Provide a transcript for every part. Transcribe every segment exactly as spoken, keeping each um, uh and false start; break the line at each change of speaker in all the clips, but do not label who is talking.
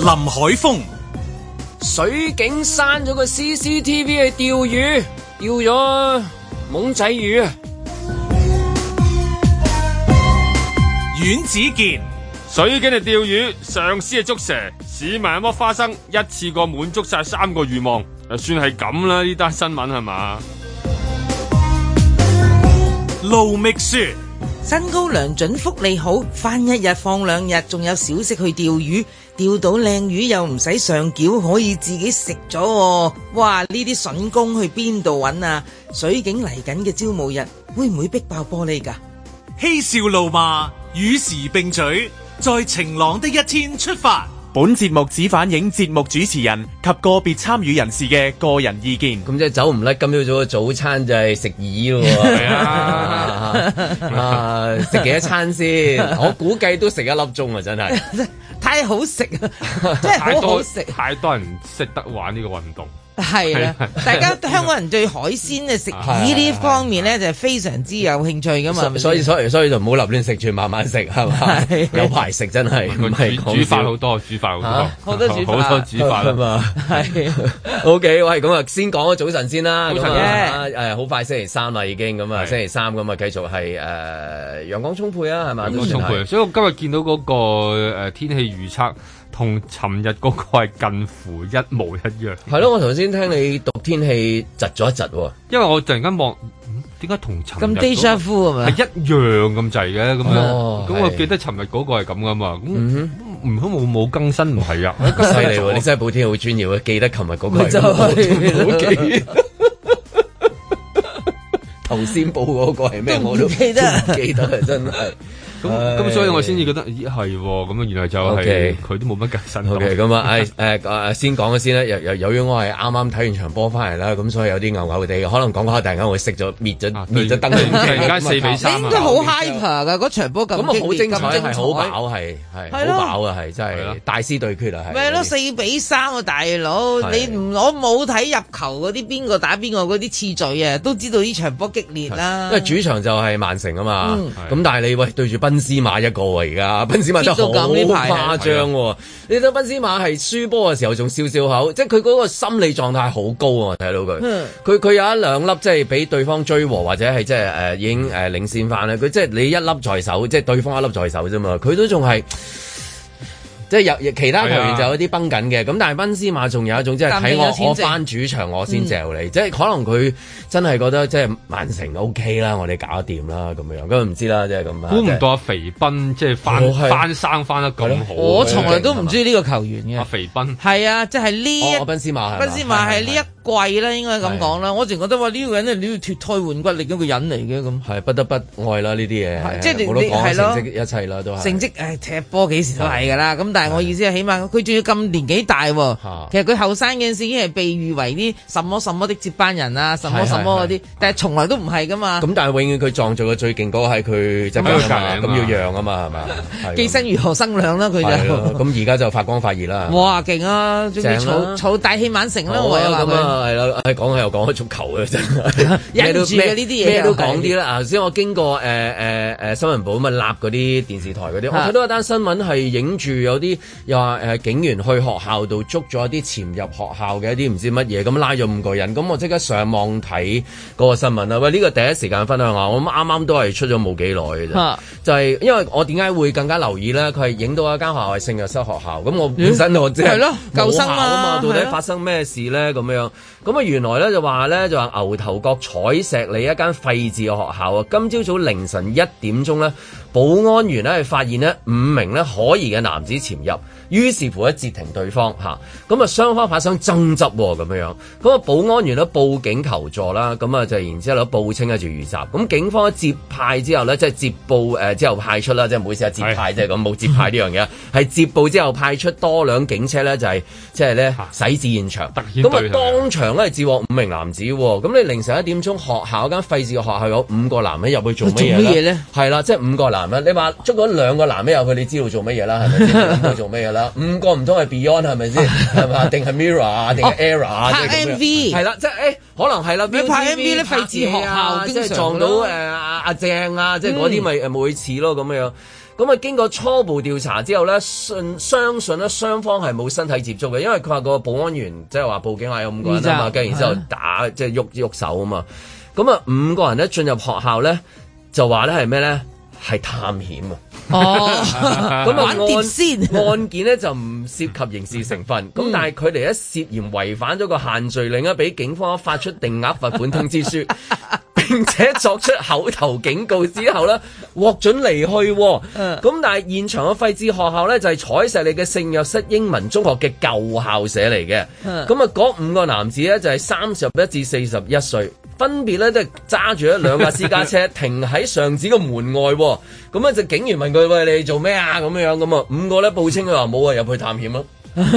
林海峰，
水警刪咗個 C C T V 去釣魚，釣咗懵仔魚啊！
阮子健，
水警嚟釣魚，上司係捉蛇，市民有剝花生，一次過滿足晒三個願望，就算係咁啦，呢單新聞係嘛？
盧覓雪，
薪高糧準福利好，返一日放兩日，仲有小息去釣魚，釣到靚魚又唔使上繳，可以自己食咗喎。哇！呢啲筍工去邊度揾啊？水警嚟緊嘅招募日，會唔會逼爆玻璃㗎？
嬉笑怒罵，與時並舉，在晴朗的一天出發。
本節目只反映節目主持人及個別參與人士嘅個人意見。
咁即係走唔甩今朝早嘅早餐就係食耳咯喎。係啊，啊食幾多餐先？我估計都食一粒鐘啊！真係
太好食啊！真係好好食。
太多人識得玩呢個運動。
係啦，大家香港人對海鮮啊食魚呢方面咧就係非常之有興趣噶嘛，
所以所以所以就唔好立亂食住，慢慢食係嘛，有排食真係。
唔係煮飯好多，煮飯好多，
好多煮飯，
好多煮飯啊嘛。
係 OK， 喂，咁啊先講咗早晨先啦。早晨啊，誒好快星期三啦已經，咁啊星期三咁啊繼續係誒陽光充沛啊係嘛？陽光充沛，
所以我今日見到嗰個誒天氣預測。同尋日嗰個係近乎一模一樣。係咯，
我頭先聽你讀天氣窒咗一窒喎，
因為我突然間望，點解同尋日
咁 déjà vu 係咪？
係一樣咁滯嘅咁樣。咁、哦、我記得尋日嗰個係咁噶嘛。咁唔通冇冇更新唔係啊？
犀利喎！你真係報天好專業啊！記得尋日嗰個係咁，好記。頭先報嗰個係咩？我都唔記得，唔記得啊！真係。
咁咁所以我先至覺得咦係喎，咁啊原來就係佢都冇乜更新。
O K 咁啊，誒誒誒先講咗先啦。由由由於我係啱啱睇完場波翻嚟啦，咁所以有啲牛牛地，可能講講下突然間會熄咗滅咗滅咗燈。
突然間四比三，
應該好 hyper 噶嗰場波咁。
咁啊好精彩，係好飽，係係好飽啊，係真係大師對決啊，係。
咪咯四比三啊，大佬！你唔我冇睇入球嗰啲邊個打邊個嗰啲次序啊，都知道呢場波激烈啦。
因為主場就係曼城啊嘛，咁但係你喂對住賓斯馬一個喎，而家賓斯馬真係好誇張喎！你睇賓斯馬係輸波嘅時候仲笑笑口，即係佢嗰個心理狀態好高啊！睇到佢，佢佢、嗯、有一兩粒即係俾對方追和或者係即係誒已經誒領先翻咧，佢即係你一粒在手，即係對方一粒在手啫嘛，佢都仲係。即係有其他球員就有啲繃緊嘅，咁、啊、但係賓斯馬仲有一種即係睇我我翻主場我先嚼你，嗯、即係可能佢真係覺得即係曼城 O K 啦，我哋搞得掂啦咁樣，咁唔知啦，即係咁啊。估唔到阿肥斌即係翻、哦、翻生翻得咁好，
我從來都唔知呢個球員嘅。
阿肥斌
係啊，即係呢一
賓斯馬，
賓斯馬係呢一季啦，應該咁講啦。我淨覺得話呢個人咧，你要脫胎換骨另一個人嚟嘅咁。係
不得不愛啦呢啲嘢，
即係你
你係
咯，
成績一切啦都係。
成績誒踢波幾時都係㗎啦，咁但係我意思係起碼佢仲要咁年紀大喎。其實佢後生嗰陣時已經係被譽為啲什麼什麼的接班人啊，什麼什麼嗰啲，但係從來都唔係㗎嘛。
咁但係永遠佢撞造嘅最勁嗰個係佢即係咁要讓啊嘛係嘛？
寄生如何生亮啦佢就。
咁而家就發光發熱啦。
哇勁啊！仲要儲儲大器晚成啦，我又話佢。
係啦，講起又講開足球嘅真係，
忍住嘅呢啲嘢，
咩都講啲啦。頭先我經過誒誒誒新聞部咁啊，立嗰啲電視台嗰啲，我睇到一單新聞係影住有啲又話誒警員去學校度捉咗一啲潛入學校嘅一啲唔知乜嘢，咁拉咗五個人，咁我即刻上網睇嗰個新聞啦。喂，呢個第一時間分享下，我啱啱都係出咗冇幾耐嘅啫，就係因為我點解會更加留意咧？佢係影到一間學校係聖若瑟學校，咁我本身我即係舊生啊嘛，到底發生咩事咧？咁樣咁啊，原來咧就話咧就話牛頭角彩石里一間廢置嘅學校啊，今朝早凌晨一點鐘咧，保安員咧係發現呢五名咧可疑嘅男子潛入，於是乎咧截停對方嚇，咁啊雙方發生爭執咁樣，咁啊保安員咧報警求助啦，咁啊就然之後咧報稱係住遇襲，咁警方接派之後咧即係接報誒、呃、之後派出啦，即係唔好意思啊接派即係咁冇接派呢樣嘢，係接報之後派出多輛警車咧就係即係咧駛至現場，咁啊當場咧截獲五名男子，咁你凌晨一點鐘學校間廢置嘅學校有五個男人入去做乜嘢咧？係啦，即係五個男人，你話捉咗兩個男人入去，你知道做乜嘢啦？係咪先？知道做乜嘢啦？五個唔通係 Beyond 係咪先？係嘛？定係 Mirror 啊？定係 Era 啊？
拍 M V
係啦，即係誒，可能係啦。
你拍 M V 咧廢置學校，
即係撞到誒阿阿鄭啊，即係嗰啲咪誒冇似咯咁樣。 咁啊，經過初步調查之後咧，信相信咧雙方係冇身體接觸嘅，因為佢話個保安員即係話報警話有五個人啊嘛，跟住然之後打即係喐喐手啊嘛。咁啊，五個人咧進入學校咧就話咧係咩咧？係探險啊！
哦，
咁啊
案先
案件咧就唔涉及刑事成分，咁、嗯、但係佢哋一涉嫌違反咗個限聚令啊，俾警方發出定額罰款通知書，並且作出口頭警告之後咧，獲准離去。咁、嗯、但係現場嘅廢置學校咧就係彩石里嘅聖約瑟英文中學嘅舊校舍嚟嘅。咁啊嗰五個男子咧就係三十一至四十一歲。分別咧，即係揸住一兩架私家車停喺上址嘅門外，咁啊就警員問佢：喂，你做咩啊？咁樣樣咁啊，五個咧報稱佢話冇啊，入去探險咯。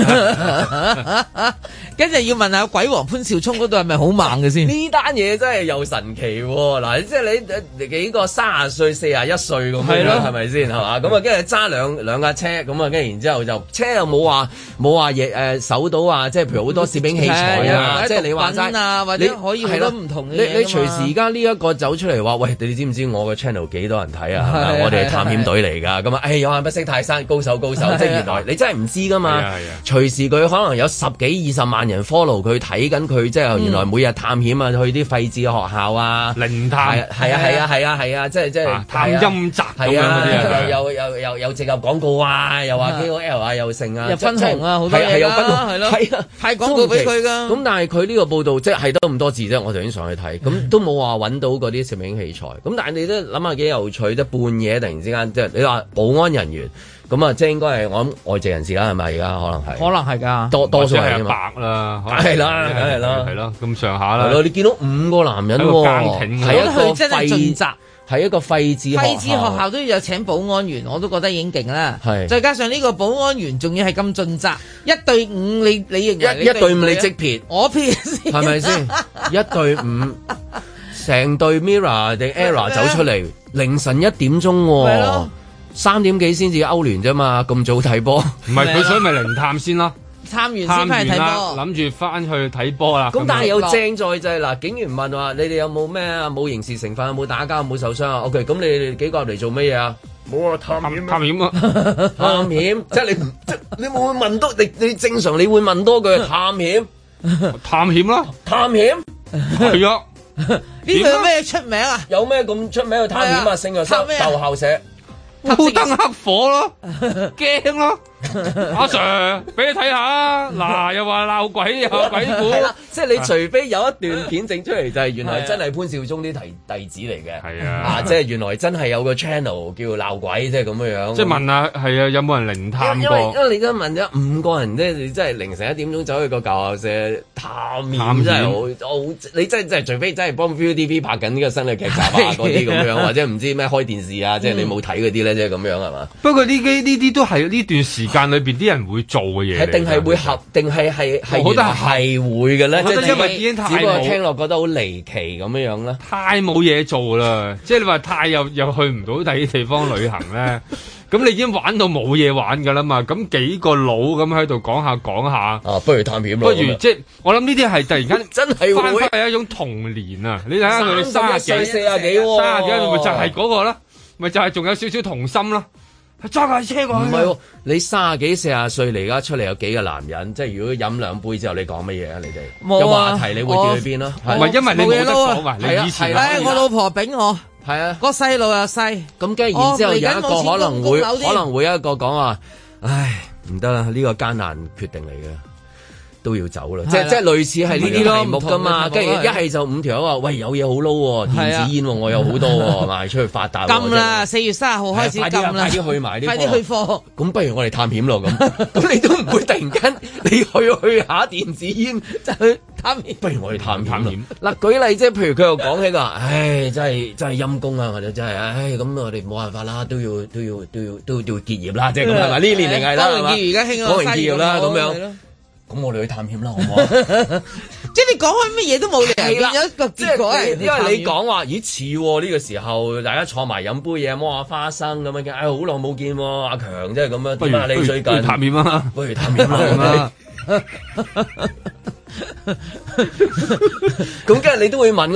跟住要問下鬼王潘兆聰嗰度係咪好猛嘅先？
呢單嘢真係又神奇喎！嗱，即係你幾個三十歲、四十一歲咁樣，係咪先係嘛？咁啊，跟住揸兩兩架車，咁啊，跟住然之後就車又冇話冇話嘢誒搜到啊！即係譬如好多攝影器材啊，即係你話齋啊，或者可以好多唔同嘅嘢。你你隨時而家呢一個走出嚟話，喂，你知唔知我個 channel 幾多人睇啊？係咪？我哋係探險隊嚟㗎。咁啊，誒有眼不識泰山，高手高手，即係原來你真係唔知㗎嘛。隨時佢可能有十幾二十萬人 follow 佢睇緊佢，即係原來每日探險啊，去啲廢置嘅學校啊，
靈探
係啊係啊係啊係啊，即係即係
探陰宅咁樣嗰啲，
又又又又植入廣告啊，又話 K O L 啊，又剩啊，
又分紅啊，好多嘢啦，係咯，係啊，派廣告俾佢㗎。咁
但係佢呢個報道即係得咁多字啫，我頭先上去睇，咁都冇話揾到嗰啲攝影器材。咁但係你都諗下幾有趣，即係半夜突然之間，即係你話保安人員。咁啊，即係應該係我諗外籍人士啦，係咪？而家可能係，
可能係㗎，
多多數係
白啦，
係啦，係啦，
係咯，咁上下啦。
係咯，你見到五個男人喎，係一個
真係盡責，
係一個廢置
廢置學校都要有請保安員，我都覺得已經勁啦。係，再加上呢個保安員仲要係咁盡責，一對五你你認為？一一對五你即撇，我撇先，
係咪先？一對五，成對 Mirror 定 Error 走出嚟，凌晨一點鐘喎。三點幾先至歐聯啫嘛，咁早睇波，
唔係佢所以咪靈探先咯，
探完先翻嚟睇波，
諗住翻去睇波啦。
咁但係有正在就係嗱，警員問話你哋有冇咩啊？冇刑事成分，有冇打交，有冇受傷啊 ？OK，咁你哋幾個入嚟做乜嘢啊？冇啊，探險
探險啊，
探險，即係你唔即你會唔會問多？你你正常你會問多句探險，
探險啦，
探險
係啊，
呢度有咩出名啊？
有咩咁出名去探險啊？聖約瑟舊校舍。
烏燈黑火咯，驚咯，阿 Sir 俾你睇下，嗱又話鬧鬼又鬼故，
即係你除非有一段片整出嚟，就係原來真係潘兆忠啲弟弟子嚟嘅，係啊，啊即係原來真係有個 channel 叫鬧鬼，即係咁樣樣。即係
問下係啊，有冇人靈探過？
因為因為你都問咗五個人咧，你真係凌晨一點鐘走去個舊校舍探險，真係好好，你真係真係除非真係幫 Viu T V 拍緊呢個新嘅劇集啊嗰啲咁樣，或者唔知咩開電視啊，即係你冇睇嗰啲咧。即係咁樣係嘛？
不過呢啲呢啲都係呢段時間裏邊啲人會做嘅嘢，
係定係會合，定係係係
我覺得
係會嘅咧。
即係因為已經太，
只不過聽落覺得好離奇咁樣樣咧。
太冇嘢做啦！即係你話太又又去唔到第啲地方旅行咧，咁你已經玩到冇嘢玩㗎啦嘛。咁幾個佬咁喺度講下講下，
啊，不如探險咯。
不如即係我諗呢啲係突然間
真係
翻返係一種童年啊！你睇下佢哋三十幾、
四十幾、
三十幾，咪就係嗰個啦。咪就係仲有少少童心咯，揸架車過去。唔係喎，
你卅幾四十歲嚟，而家出嚟有幾個男人？即係如果飲兩杯之後，你講乜嘢啊？你哋
冇啊？
有話題你會叫去邊咯？
唔係因為你冇得講啊！你以前
係我老婆炳我
係啊，
個細路又細，
咁跟住然之後有一個可能會可能會有一個講話，唉唔得啦，呢個艱難決定嚟嘅。都要走啦，即係即係類似係呢啲題目噶嘛，跟住一係就五條友話，喂有嘢好撈，電子煙我有好多，賣出去發達。禁啦，
四月三十號開始禁啦，
快啲去埋啲，
快啲去貨。
咁不如我哋探險咯，咁咁你都唔會突然間你去去下電子煙就去探險，不如我哋探探險。嗱舉例即係譬如佢又講起個，唉真係真係陰公啊，或者真係唉咁我哋冇辦法啦，都要都要都要都要結業啦，即係咁係嘛？呢年齡係啦，係嘛？而家興講完結業啦咁樣。咁我哋去探險啦，好唔好？
即係你講開乜嘢都冇理由有一個結果係，
因為你講話咦似喎呢個時候，大家坐埋飲杯嘢，摸下花生咁樣，唉好耐冇見喎，阿強即係咁樣，點啊你最近
探險啊？
不如探險啦，咁跟住你都會問啊，探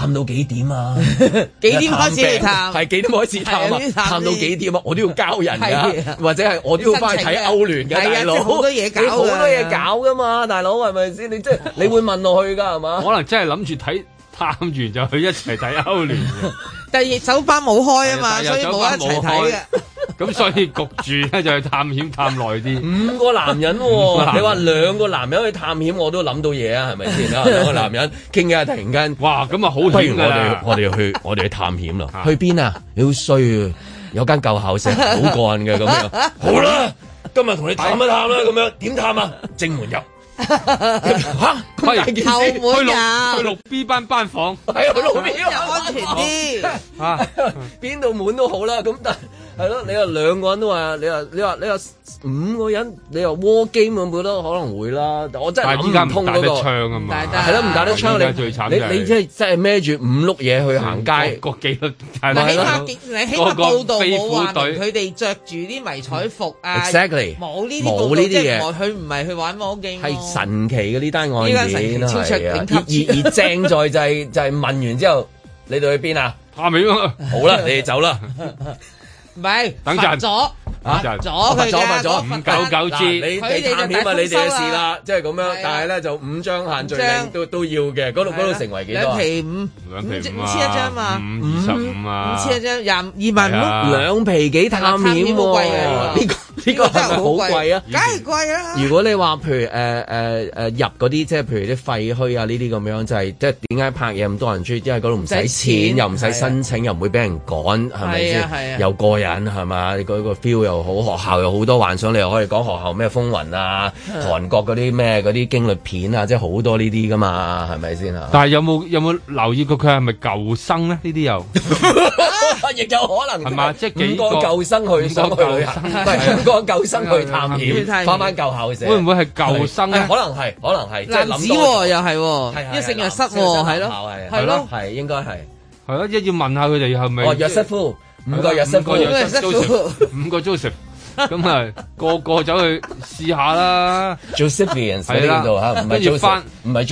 探到幾點啊？
幾點開始去探？
係幾點開始探啊？探到幾點啊？我都要交人㗎，或者係我都要翻去睇歐聯㗎，大佬。好多嘢搞，好多嘢搞㗎嘛，大佬係咪先？你即係你會問落去㗎係嘛？
可能真係諗住睇探完就去一齊睇歐聯嘅。
但係酒吧冇開啊嘛，所以冇一齊睇嘅。
咁所以焗住咧就去探險探耐啲。
五個男人喎，你話兩個男人去探險，我都諗到嘢啊，係咪先啊？兩個男人傾偈，突然間，
哇！咁啊好，
不如我哋我哋去我哋去探險啦。去邊啊？你好衰啊！有間舊校舍好過癮嘅咁樣。好啦，今日同你探一探啦，咁樣點探啊？正門入。吓，
後門入，
去六 B 班班房，
係啊，六 B
又安全啲
啊，邊度門都好啦。咁但係咯，你話兩個人都話，你話你話你話五個人，你話 war game 咁，覺得可能會啦。我真係諗唔通嗰個槍啊嘛，係咯，唔打得槍你你你即係真係孭住五碌嘢去行街，
個幾多？
嗱，起碼你起碼報道冇話佢哋着住啲迷彩服啊
，exactly
冇呢啲
冇呢啲嘢，
佢唔係去玩 war game。
神奇嘅呢單案件係啊，而而而正在就係就係問完之後，你哋去邊啊？
下面啊，
好啦，你哋走啦。
唔係，
等陣
咗，罰咗佢嘅
五九九 G，
你哋探險啊，你哋嘅事啦，即係咁樣。但係咧就五張限聚令都都要嘅，嗰度嗰度成為幾多？
兩皮五，
兩皮五
五千一張嘛，
五二十五啊，
五千一張廿二萬五，
兩皮幾探險喎？呢個呢個係咪好貴啊？
梗係貴啦！
如果你話譬如誒誒誒入嗰啲，即係譬如啲廢墟啊呢啲咁樣，就係即係點解拍嘢咁多人中意？因為嗰度唔使錢，又唔使申請，又唔會俾人趕，係咪先？又過癮係嘛？你嗰個 feel 又好，學校又好多幻想，你又可以講學校咩風雲啊，韓國嗰啲咩嗰啲驚慄片啊，即係好多呢啲噶嘛，係咪先啊？
但係有冇有冇留意過佢係咪舊生咧？呢啲又
亦有可能
係嘛？即係幾個
舊生去想去旅行，五個舊生去探險，翻翻舊校舍，
會唔會係舊生咧？
可能係，可能係。
男子喎又係喎，一聖若瑟喎，係咯，係咯，
係應該係。
係咯，一要問下佢哋係咪？
哦，約瑟夫，五個約瑟夫，
五個 Joseph，咁啊個個走去試下啦。
Josephians 喺呢度嚇，唔係 Joseph，唔係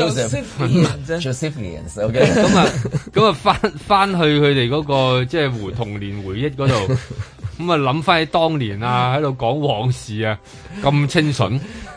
Joseph，Josephians，OK。
咁啊咁啊翻翻去佢哋嗰個即係回童年回憶嗰度，咁啊諗翻起當年啊，喺度講往事啊，咁清純。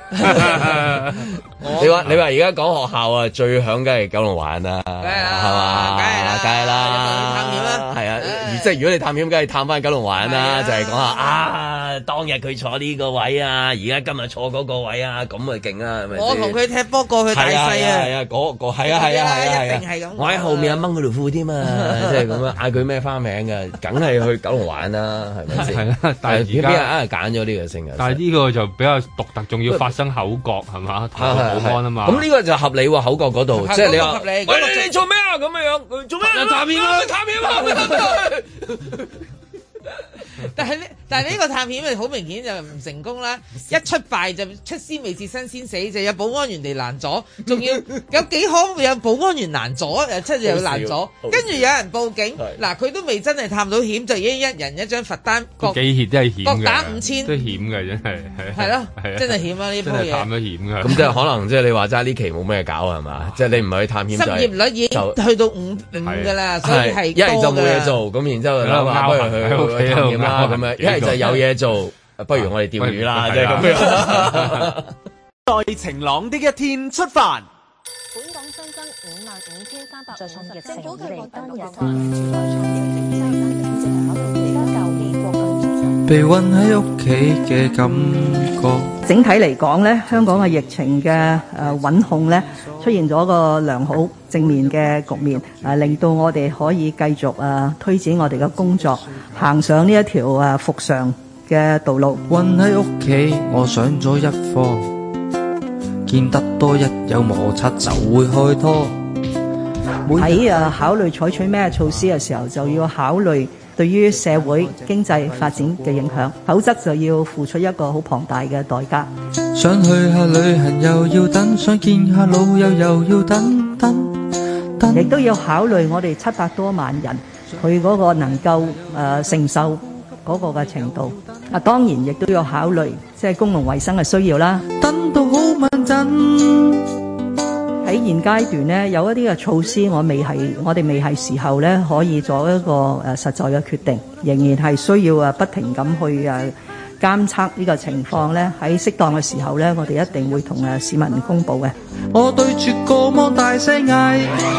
你話你話而家講學校啊，最響梗係九龍灣啦，係嘛？
梗係啦，
梗係啦，
探險啦，
係啊！即係如果你探險，梗係探翻九龍灣啦，就係講下啊，當日佢坐呢個位啊，而家今日坐嗰個位啊，咁咪勁啊，係咪？
我同佢踢波過去大細啊，
係啊，嗰個係啊係啊係啊，
一定係咁。
我喺後面啊掹佢條褲添啊，即係咁樣嗌佢咩花名㗎？梗係去九龍灣啦，係咪先？係啦，但係而家邊人揀咗呢個姓啊？
但係呢個就比較獨特，仲要發生口角係嘛？保安啊嘛。
咁呢個就合理喎，口角嗰度，即係你話，
喂
你做咩啊？咁樣樣做咩？探險啊！探險啊！
但係呢，但係呢個探險咪好明顯就唔成功啦！一出敗就出師未捷身先死，就有保安員嚟攔阻，仲要有幾可有保安員攔阻，又出又攔阻，跟住有人報警。嗱，佢都未真係探到險，就已經一人一張罰單，各
幾險都係險嘅，
各打五千，
都險嘅真係
係咯，真係險啊！呢鋪嘢
探咗險嘅，
咁即係可能即係你話齋呢期冇咩搞係嘛？即係你唔係去探險，
失業率已經去到五五㗎啦，所以係
一係就冇嘢做，咁然之後諗下不如去去探險啦咁樣，一係就有嘢做，不如我哋釣魚啦，即係咁樣。
在晴朗的一天出發。
本港新增五萬五千三百再創疫情以嚟單日同時代創疫正增長，考慮而家舊年國慶
被韞喺屋企嘅感覺。
整體嚟講咧，香港嘅疫情嘅誒穩控咧，出現咗個良好正面嘅局面，誒令到我哋可以繼續誒推展我哋嘅工作，行上呢一條誒復常嘅道路。
韞喺屋企，我上咗一課。見得多，一有摩擦就會開拖。
喺誒考慮採取咩措施嘅時候，就要考慮對於社會經濟發展嘅影響，否則就要付出一個好龐大嘅代價。
想去下旅行又要等，想見下老友又要等等等。
亦都要考慮我哋七百多萬人佢嗰個能夠誒、呃、承受嗰個嘅程度。啊，當然亦都要考慮即係公共衛生嘅需要啦。
等到好穩陣。
喺現階段咧，有一啲嘅措施我未係我哋未係時候咧可以做一個誒實在嘅決定，仍然係需要啊不停咁去誒監測呢個情況咧，喺適當嘅時候咧，我哋一定會同誒市民公佈嘅。
我對住個芒大聲嗌。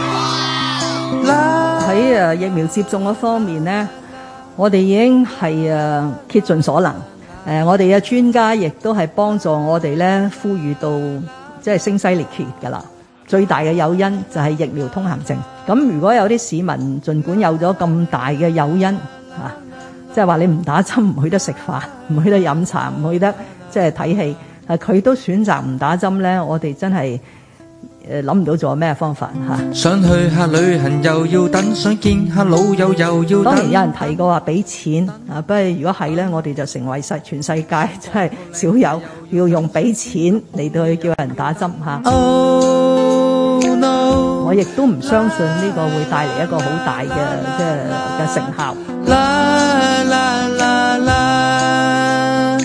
喺誒疫苗接種嗰方面咧，我哋已經係誒竭盡所能。誒，我哋嘅專家亦都係幫助我哋咧，呼籲到即係聲嘶力竭㗎啦。最大嘅誘因就係疫苗通行證。咁如果有啲市民儘管有咗咁大嘅誘因嚇，即係話你唔打針唔去得食飯，唔去得飲茶，唔去得即係睇戲，誒佢都選擇唔打針咧，我哋真係誒諗唔到做咩方法嚇。
想去下旅行又要等，想見下老友又要等。
當然有人提過話俾錢啊，不過如果係咧，我哋就成為世全世界真係少有要用俾錢嚟到去叫人打針嚇。Oh, no. 我亦都唔相信呢個會帶嚟一個好大嘅即係嘅成效。啦啦啦啦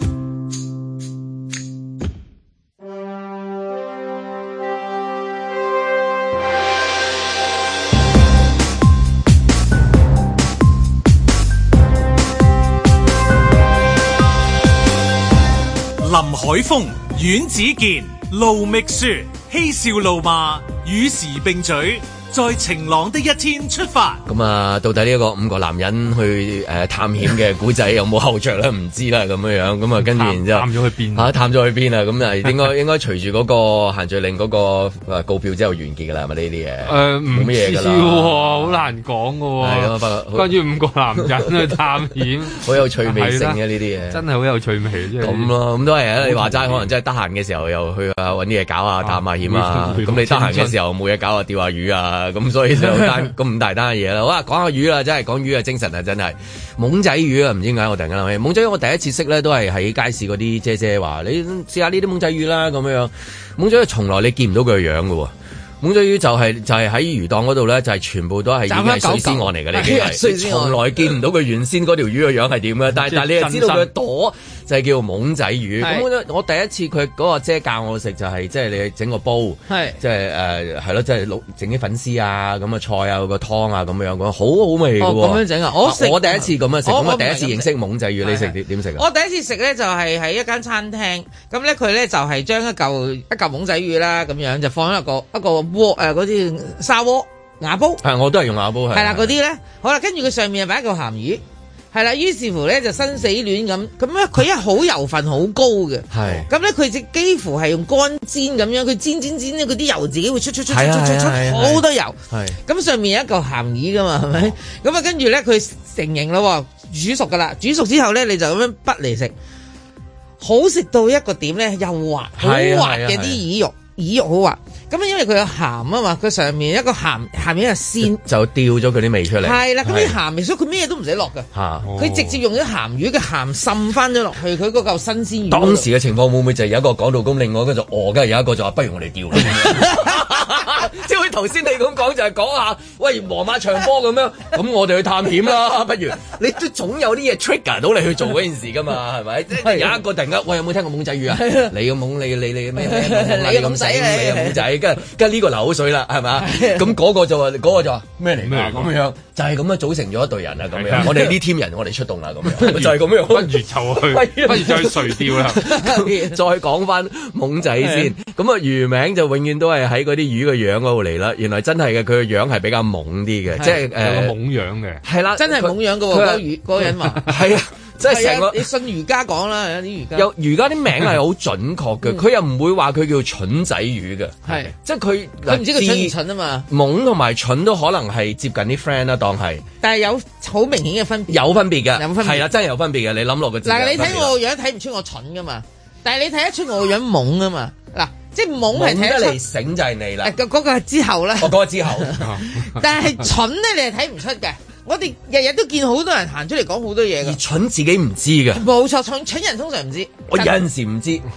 林海峰、阮子健、盧覓雪，嬉笑怒罵，與時並舉，在晴朗的一天出發。
咁啊，到底呢一個五個男人去誒、呃、探險嘅古仔有冇後着咧？唔知啦，咁樣樣咁啊，跟住然之後
探咗去邊
啊？探咗去邊啊？咁啊，應該應該隨住嗰個限聚令嗰個告票之後完結噶啦，係咪呢啲嘢？誒，冇乜嘢噶啦，
好難講噶喎。
係咁啊，不過
關於五個男人去探險，
好有趣味性嘅呢啲嘢，
真係好有趣味。
咁咯，咁都係啊！你話齋，可能真係得閒嘅時候又去啊揾啲嘢搞啊，探下險啊。咁你得閒嘅時候冇嘢搞啊，釣下魚啊。咁所以就單咁唔大單嘅嘢啦。好啊，講下魚啦，真係講魚啊，精神啊，真係懵仔魚啊！唔知點解我突然間諗起懵仔魚，我第一次識咧都係喺街市嗰啲姐姐話：你試下呢啲懵仔魚啦咁樣。懵仔魚從來你見唔到佢嘅樣嘅喎。懵仔魚就係、是、就係、是、喺魚檔嗰度咧，就係、是、全部都係已經係水絲案嚟嘅，你已經係從來見唔到佢原先嗰條魚嘅樣係點嘅。但係但係你又知道佢嘅朵就係叫懵仔魚。咁我我第一次佢嗰個姐教我食就係即係你整個煲，即係誒係咯，即係整啲粉絲啊咁啊菜啊個湯啊咁樣講，好好味嘅喎。咁樣整啊！我我第一次咁樣食，咁我第一次認識懵仔魚，你食點點食啊？
我第一次食咧就係喺一間餐廳，咁咧佢咧就係將一嚿一嚿懵仔魚啦，咁樣就放喺一個一個鍋誒嗰啲砂鍋瓦煲。係，
我都係用瓦煲。係啦，
嗰啲咧好啦，跟住佢上面又擺一嚿鹹魚。係啦，於是乎咧就生死戀咁，咁咧佢一好油份好高嘅，係，咁咧佢只幾乎係用乾煎咁樣，佢煎煎煎咧，嗰啲油自己會出出出出出出好多油，係，咁上面有一嚿鹹魚噶嘛，係咪？咁啊跟住咧佢成型咯，煮熟噶啦，煮熟之後咧你就咁樣滗嚟食，好食到一個點咧，又滑，好滑嘅啲魚肉。魚肉好滑，咁因為佢有鹹啊嘛，佢上面一個鹹，下面一個鮮，就掉咗佢啲味出嚟。係啦，咁啲鹹味，所以佢咩都唔使落㗎。嚇，佢直接用咗鹹魚嘅鹹滲翻咗落去，佢嗰嚿新鮮魚。當時嘅情況會唔會就係有一個講到咁，另外一個就餓，跟住有一個就話不如我哋掉啦。即係好似頭先你咁講，就係講下，喂，黃馬長波咁樣，咁我哋去探險啦，不如你都總有啲嘢 trigger 到你去做嗰件事㗎嘛，係咪？即係有一個突然間，喂，有冇聽過懵仔魚啊？你個懵，你你你咩咩？你咁細。你又懵仔，跟住跟住呢個流口水啦，係咪？咁嗰個就話，嗰個就話咩嚟㗎？咁樣就係咁樣組成咗一隊人啦，咁樣。我哋呢 team 人，我哋出動啦，咁樣就係咁樣。不如就去，不如就去垂釣啦。再講翻懵仔先，咁啊魚名就永遠都係喺嗰啲魚嘅樣嗰度嚟啦。原來真係嘅，佢嘅樣係比較懵啲嘅，即係誒懵樣嘅。係啦，真係懵樣嘅喎，嗰個魚嗰個人話係啊。即係成個，你信儒家講啦，有啲儒家有儒家啲名係好準確嘅，佢又唔會話佢叫蠢仔魚嘅，係即係佢佢唔知佢蠢唔蠢啊嘛，懵同埋蠢都可能係接近啲 friend 啦，當係，但係有好明顯嘅分別，有分別嘅，有分別係啦，真係有分別嘅，你諗落個字。嗱，你睇我個樣睇唔出我蠢噶嘛，但係你睇得出我個樣懵啊嘛，嗱，即係懵係睇得出。懵得嚟醒就係你啦，嗰嗰個係之後啦，我嗰個之後，但係蠢咧，你係睇唔出嘅。我哋日日都見好多人行出嚟講好多嘢嘅，而蠢自己唔知嘅，冇錯，蠢蠢人通常唔知。我有陣時唔知，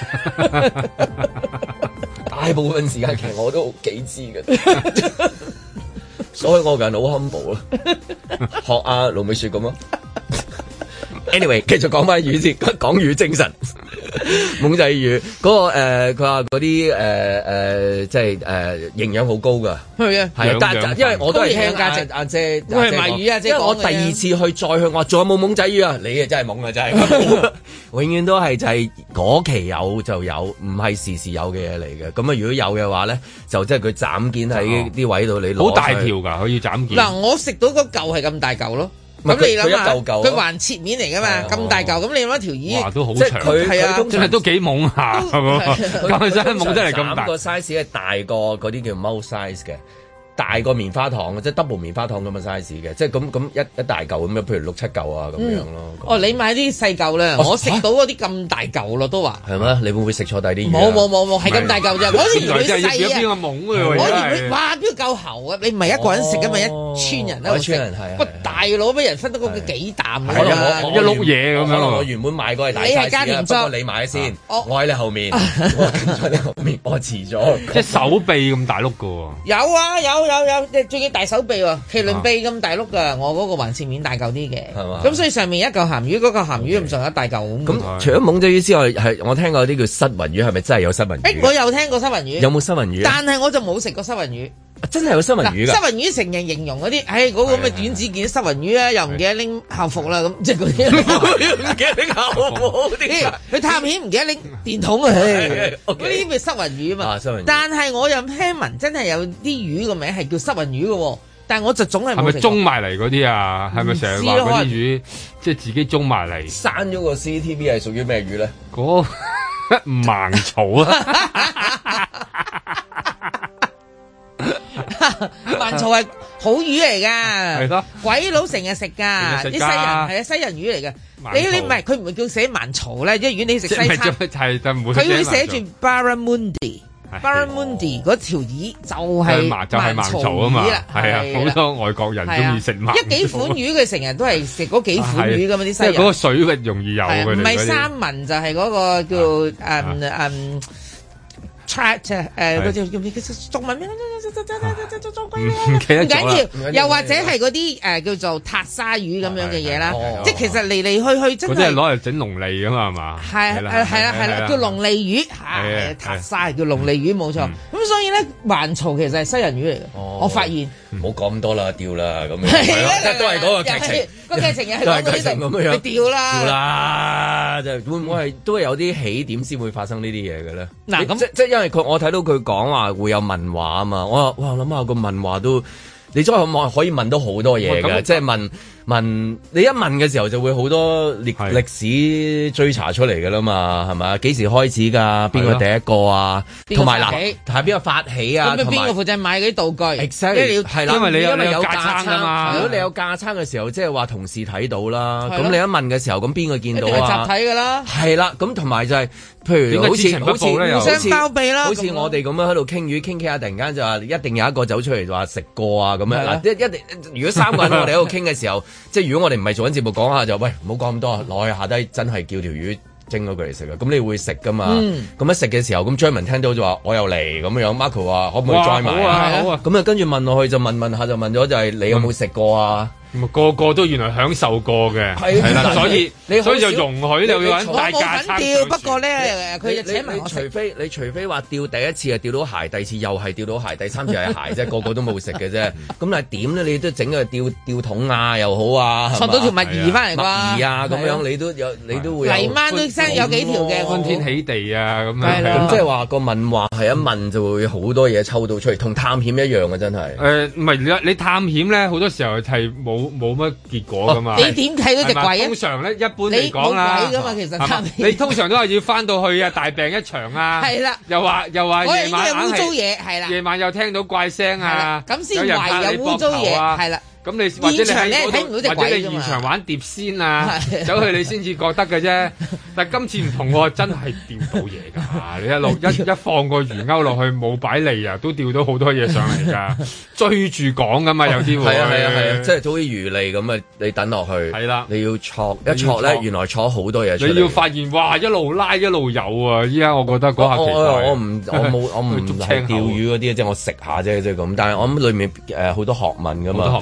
大部分時間其實我都幾知嘅，所以我個人好 humble 啦，學阿盧美雪咁咯。Anyway，繼續講翻魚先，講魚精神。
懵仔魚嗰個誒，佢話嗰啲誒誒，即係誒營養好高㗎。係啊，係啊，但係因為我都係聽阿姐阿姐，
我係賣魚啊，
因為我第二次去再去，我話仲有冇懵仔魚啊？你啊真係懵啊，真係，永遠都係就係嗰期有就有，唔係時時有嘅嘢嚟嘅。咁啊，如果有嘅話咧，就即係佢斬件喺啲位度，你攞
好大條㗎，可以斬件。
嗱，我食到嗰嚿係咁大嚿咯。咁你諗下，佢橫切面嚟噶嘛，咁大嚿，咁你諗一條魚，
哇，都好長，
係啊，
真係都幾懵下，咁真係懵得嚟咁大。
個 size 係大過嗰啲叫 mouse size 嘅。大個棉花糖即係 double 棉花糖咁嘅 size 嘅，即係咁咁一一大嚿咁樣，譬如六七嚿啊咁樣咯。
哦，你買啲細嚿咧，我食到嗰啲咁大嚿咯，都話
係咩？你會唔會食錯第啲魚？
冇冇冇冇，係咁大嚿啫。我以為佢細啊，
邊個懵
我以為佢哇邊個夠喉啊？你唔係一個人食㗎嘛，一村人喺度食。喂，大佬俾人分得嗰個幾啖啊！
一碌嘢咁樣。
可能我原本買嗰係大 size 不過你買先，我喺你後面，我跟咗你後面，我遲咗。
即係手臂咁大碌㗎喎。
有啊，有有有，即係仲要大手臂喎，麒麟臂咁大碌噶，我嗰個橫切面大嚿啲嘅，係嘛？咁所以上面一嚿鹹魚，嗰嚿鹹魚咁上下大嚿咁。咁
除咗懵仔魚之外，係我聽過啲叫失魂魚，係咪真係有失魂魚？
誒，我有聽過失魂魚。
有冇失魂魚？
但係我就冇食過失魂魚。
真係有失魂魚㗎。
失魂魚成日形容嗰啲，唉，嗰個咁嘅短子件失魂魚啊，又唔記得拎校服啦，咁即係嗰啲唔記得拎校服啲。佢探險唔記得拎電筒啊，嗰啲咪失魂魚啊嘛。但係我又聽聞真係有啲魚個名係叫失魂魚嘅喎，但係我就總係冇食過。係咪中
埋嚟嗰啲啊？係咪成日話嗰啲魚即係自己中埋嚟？
刪咗個 C C T V 係屬於咩魚咧？
嗰盲草啊！
盲草係好魚嚟㗎，
係咯，
鬼佬成日食㗎，啲西人係啊西人魚嚟㗎。你你唔係佢唔會叫寫盲草咧，即係如果你食西餐，佢會寫住 barramundi。Barramundi 嗰條魚就係
就係盲草啊嘛，係啊，好多外國人中意食盲。
一幾款魚佢成日都係食嗰幾款魚㗎嘛，啲西人。
嗰個水域容易有嘅，
唔係三文就係嗰個叫誒誒。Try 誒嗰條叫咩？中文咩？唔緊要，又或者係嗰啲誒叫做塔沙魚咁樣嘅嘢啦。即係其實嚟嚟去去真係。
嗰啲係攞嚟整龍脷㗎嘛係嘛？
係係啦係啦，叫龍脷魚係塔沙叫龍脷魚冇錯。咁所以咧，環槽其實係西人魚嚟嘅。我發現
唔好講咁多啦，掉啦咁樣。係啦，都係嗰個劇情。
個劇情又係講嗰啲咁樣，你掉啦，
掉啦，就會唔會係都係有啲起點先會發生呢啲嘢嘅咧？
嗱咁
即即因為佢我睇到佢講話會有問話啊嘛，我話哇諗下個問話都，你再可可以問到好多嘢嘅，即係問。問你一問嘅時候就會好多歷歷史追查出嚟㗎啦嘛，係咪？幾時開始㗎？邊個第一個啊？同埋嗱，係邊個發起啊？
咁邊個負責買嗰啲道具
？Exactly 係啦，
因為你有你有
架
撐㗎嘛。
如果你有架撐嘅時候，即係話同事睇到啦。咁你一問嘅時候，咁邊個見到啊？
集體㗎啦。
係啦，咁同埋就係譬如好似好似
互相包庇啦，
好似我哋咁樣喺度傾魚傾傾下，突然間就話一定有一個走出嚟話食過啊咁樣嗱，一一定如果三個人我哋喺度傾嘅時候，即係如果我哋唔係。做緊節目講下就喂，唔好講咁多，落去下低真係叫條魚蒸咗佢嚟食啊！咁你會食噶嘛？咁、嗯、一食嘅時候，咁張文聽到就話我又嚟咁樣 Marco 話可唔可以 join 埋啊？好啊！咁啊跟住問落去就問問下就問咗就係你有冇食過啊？
個個都原來享受過嘅，係啦，所以所以就容許你要揾大架撐。釣，
不過咧，佢就請埋我食。
除非你除非話釣第一次係釣到鞋，第二次又係釣到鞋，第三次係鞋啫，個個都冇食嘅啫。咁但係點咧？你都整個吊吊桶啊又好啊，
索到條墨魚翻嚟啩？
墨魚啊咁樣，你都有你都會。
泥鯭都聲有幾條嘅，
歡天喜地啊咁樣。
咁即係話個問話係一問就會好多嘢抽到出嚟，同探險一樣嘅真係。
誒唔係你你探險咧，好多時候係冇冇乜結果噶嘛？
你點睇嗰隻鬼啊？
通常咧，一般嚟講啦，
你冇鬼噶嘛？其實
你通常都係要翻到去啊，大病一場啊，
係啦，
又話又話夜晚
有污糟嘢，係啦，
夜晚又聽到怪聲啊，
咁先懷有污糟嘢，係啦。
咁你或者你喺
嗰度，
或者你現場玩碟仙啊，走去你先至覺得嘅啫。但係今次唔同喎，真係釣到嘢㗎！你一路一一放個魚鈎落去冇擺脷啊，都釣到好多嘢上嚟㗎。追住講㗎嘛，有啲會。係啊係啊係啊，
即係好似魚脷咁啊！你等落去。係啦。你要戳一戳咧，原來戳好多嘢出嚟。
你要發現哇，一路拉一路有啊！依家我覺得嗰下奇怪。
我唔我冇我唔係釣魚嗰啲，即係我食下啫，即係咁。但係我諗裡面誒好多學問㗎嘛。
好多學問。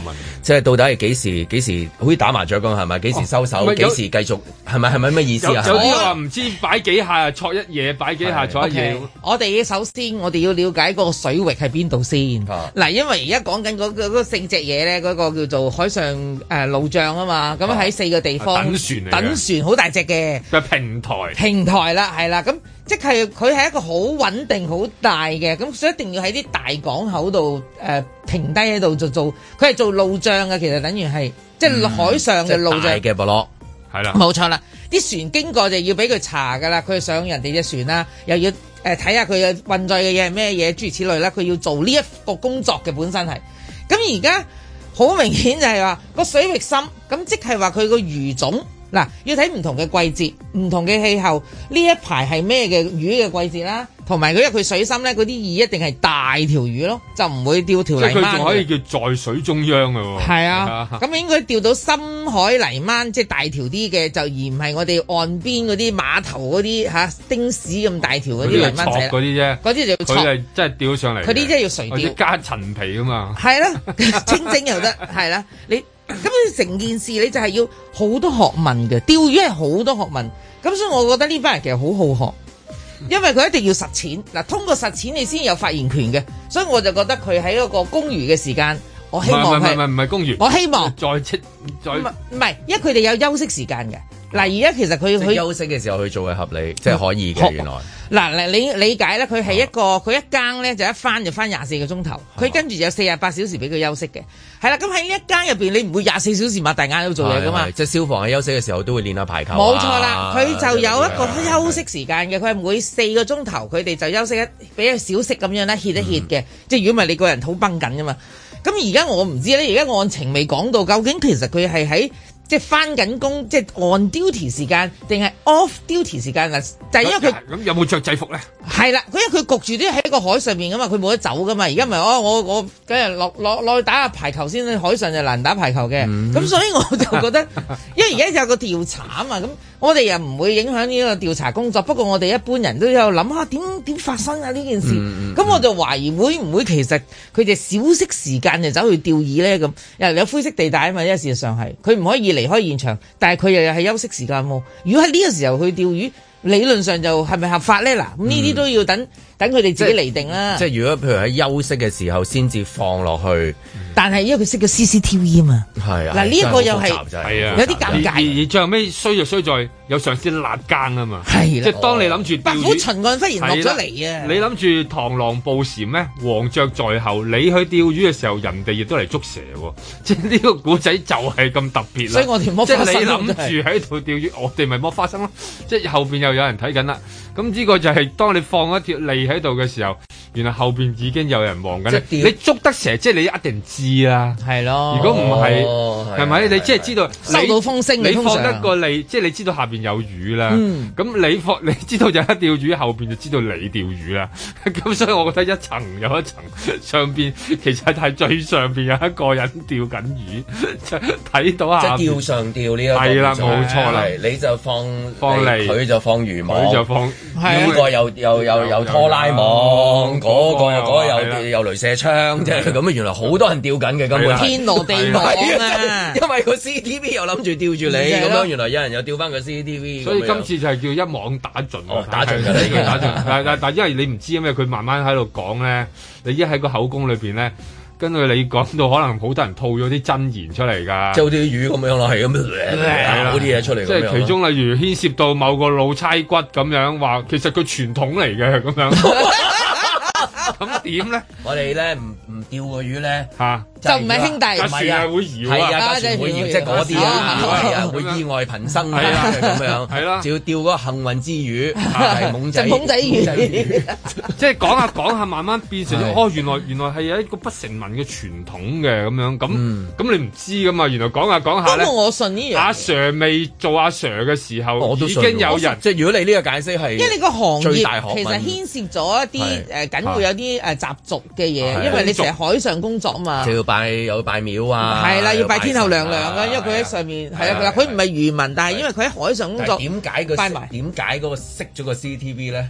即係到底係幾時？幾時好似打麻雀咁係咪？幾時收手？幾、哦、時繼續？係咪係咪咩意思啊？
有啲話唔知擺幾下錯一嘢，擺幾下錯一嘢。
Okay, 我哋首先我哋要了解個水域係邊度先。嗱、啊，因為而家講緊嗰個嗰四隻嘢咧，嗰、嗰個叫做海上誒路障啊嘛。咁喺四個地方、啊、等船嚟，等船好大隻嘅。
嘅平台。平
台啦，係啦，咁。即係佢係一個好穩定、好大嘅，咁所以一定要喺啲大港口度誒、呃、停低喺度就做，佢係做路障嘅，其實等於係即係海上嘅路障
嘅部落，
係啦，
冇錯啦。啲船經過就要俾佢查㗎啦，佢上人哋隻船啦，又要誒睇下佢嘅運載嘅嘢係咩嘢，諸如此類啦，佢要做呢一個工作嘅本身係。咁而家好明顯就係話個水域深，咁即係話佢個魚種。嗱，要睇唔同嘅季節、唔同嘅氣候，呢一排係咩嘅魚嘅季節啦，同埋佢因為佢水深咧，嗰啲魚一定係大條魚咯，就唔會釣條泥鯭。即係佢仲可以
叫在水中央嘅喎。
係啊，咁應該釣到深海泥鯭，即係大條啲嘅，就而唔係我哋岸邊嗰啲碼頭嗰啲嚇丁屎咁大條嗰啲泥鯭仔。
嗰啲啫，
嗰啲就要
佢係真係釣上嚟。
佢啲真係要垂釣，
加陳皮啊嘛。
係啦，清蒸又得，係啦，你。咁成件事你就係要好多學問嘅，釣魚係好多學問，咁所以我覺得呢班人其實好好學，因為佢一定要實踐，嗱，通過實踐你先有發言權嘅，所以我就覺得佢喺嗰個公餘嘅時間，我希望係
唔係唔係公餘，
我希望
再出再
唔係，因為佢哋有休息時間嘅。嗱，而家其實佢佢
休息嘅時候去做係合理，即係可以嘅。原來
嗱，你理解咧，佢係一個佢、哦、一更咧就一翻就翻廿四個鐘頭，佢跟住有四十八小時俾佢休息嘅。係啦，咁喺呢一更入邊，你唔會廿四小時擘大眼喺度做嘢噶嘛？
即係消防喺休息嘅時候都會練下排球。
冇錯啦，佢就有一個休息時間嘅，佢係每四個鐘頭，佢哋就休息一俾個小息咁樣咧歇一歇嘅。即係如果唔係你個人好繃緊噶嘛。咁而家我唔知咧，而家案情未講到，究竟其實佢係喺。即係翻緊工，即係 on duty 時間定係 off duty 時間嗱，就係、是、因為佢
咁有冇着制服咧？
係啦，佢因為佢焗住都喺個海上面噶嘛，佢冇得走噶嘛。而家咪哦，我我梗係落落落去打下排球先，海上就難打排球嘅。咁、嗯、所以我就覺得，因為而家有個調查啊嘛，咁我哋又唔會影響呢個調查工作。不過我哋一般人都有諗下點點發生啊呢件事。咁、嗯嗯、我就懷疑會唔會其實佢哋小息時間就走去釣魚咧咁，又有灰色地帶啊嘛。因為事實上係佢唔可以離開現場，但係佢又又係休息時間喎。如果喺呢個時候去釣魚，理論上就係咪合法咧？嗱，咁呢啲都要等等佢哋自己嚟定啦。
即係如果譬如喺休息嘅時候先至放落去，
但係因為佢識咗 C C T V 啊嘛。係啊，嗱呢一個又係有啲尷尬。
而而最後尾衰就衰在有上司辣更啊嘛。係即係當你諗住
白虎巡案忽然落咗嚟啊！
你諗住螳螂捕蟬咩？黃雀在後，你去釣魚嘅時候，人哋亦都嚟捉蛇喎。即係呢個古仔就係咁特別啦。
所以我哋摸花生。
即係你諗住喺度釣魚，我哋咪摸花生咯。即係後邊又有人睇緊啦。咁呢個就係當你放一條脷喺度嘅時候，原來後邊已經有人望緊。你捉得蛇，即係你一定知啦。係咯。如果唔係，係咪？你即係知道
收到風聲，
你放得個脷，即係你知道下邊有魚啦。咁、嗯、你放，你知道有一釣魚，後邊就知道你釣魚啦。咁所以我覺得一層有一層，上邊其實係最上邊有一個人釣緊魚，睇到下。
即係釣上釣呢一個。
係啦，冇錯啦。
你就放
放脷，
佢就放魚網，
佢就放。
呢個又又又又拖拉網，嗰個又嗰個又又鐳射槍，即係咁啊！原來好多人釣緊嘅根本
天羅地網啊！
因為個 C C T V 又諗住釣住你咁樣，原來有人又釣翻個 C C T V。
所以今次就係叫一網打盡。
哦，打盡㗎呢個打盡。
但但但因為你唔知啊嘛，佢慢慢喺度講咧，你一喺個口供裏邊咧。跟住你講到可能好多人吐咗啲真言出嚟㗎，
即係好似啲魚咁樣咯，係咁樣嗰啲嘢出嚟。
即係其中例如牽涉到某個老差骨咁樣話，其實佢傳統嚟嘅咁樣。咁點咧？
我哋咧唔唔釣個魚咧
嚇，
就唔係兄弟，
唔係啊，會搖啊，
架船會搖，即係嗰啲啊，係啊，會意外頻生啊，咁樣係啦，就要釣嗰個幸運之魚，係懵仔，
懵仔魚，
即係講下講下，慢慢變成哦，原來原來係有一個不成文嘅傳統嘅咁樣，咁咁你唔知噶嘛？原來講下講下咧，
我信呢樣。
阿 Sir 未做阿 Sir 嘅時候，已經有人，
即係如果你呢個解釋係，
因為你個行業其實牽涉咗一啲誒緊會有啲誒習俗嘅嘢，因為你成日海上工作啊嘛，
就要拜有拜廟啊，
係啦，要拜天后娘娘啊，因為佢喺上面係啊，佢唔係漁民，但係因為佢喺海上工作，
點解個點解嗰個熄咗個 C C T V 咧？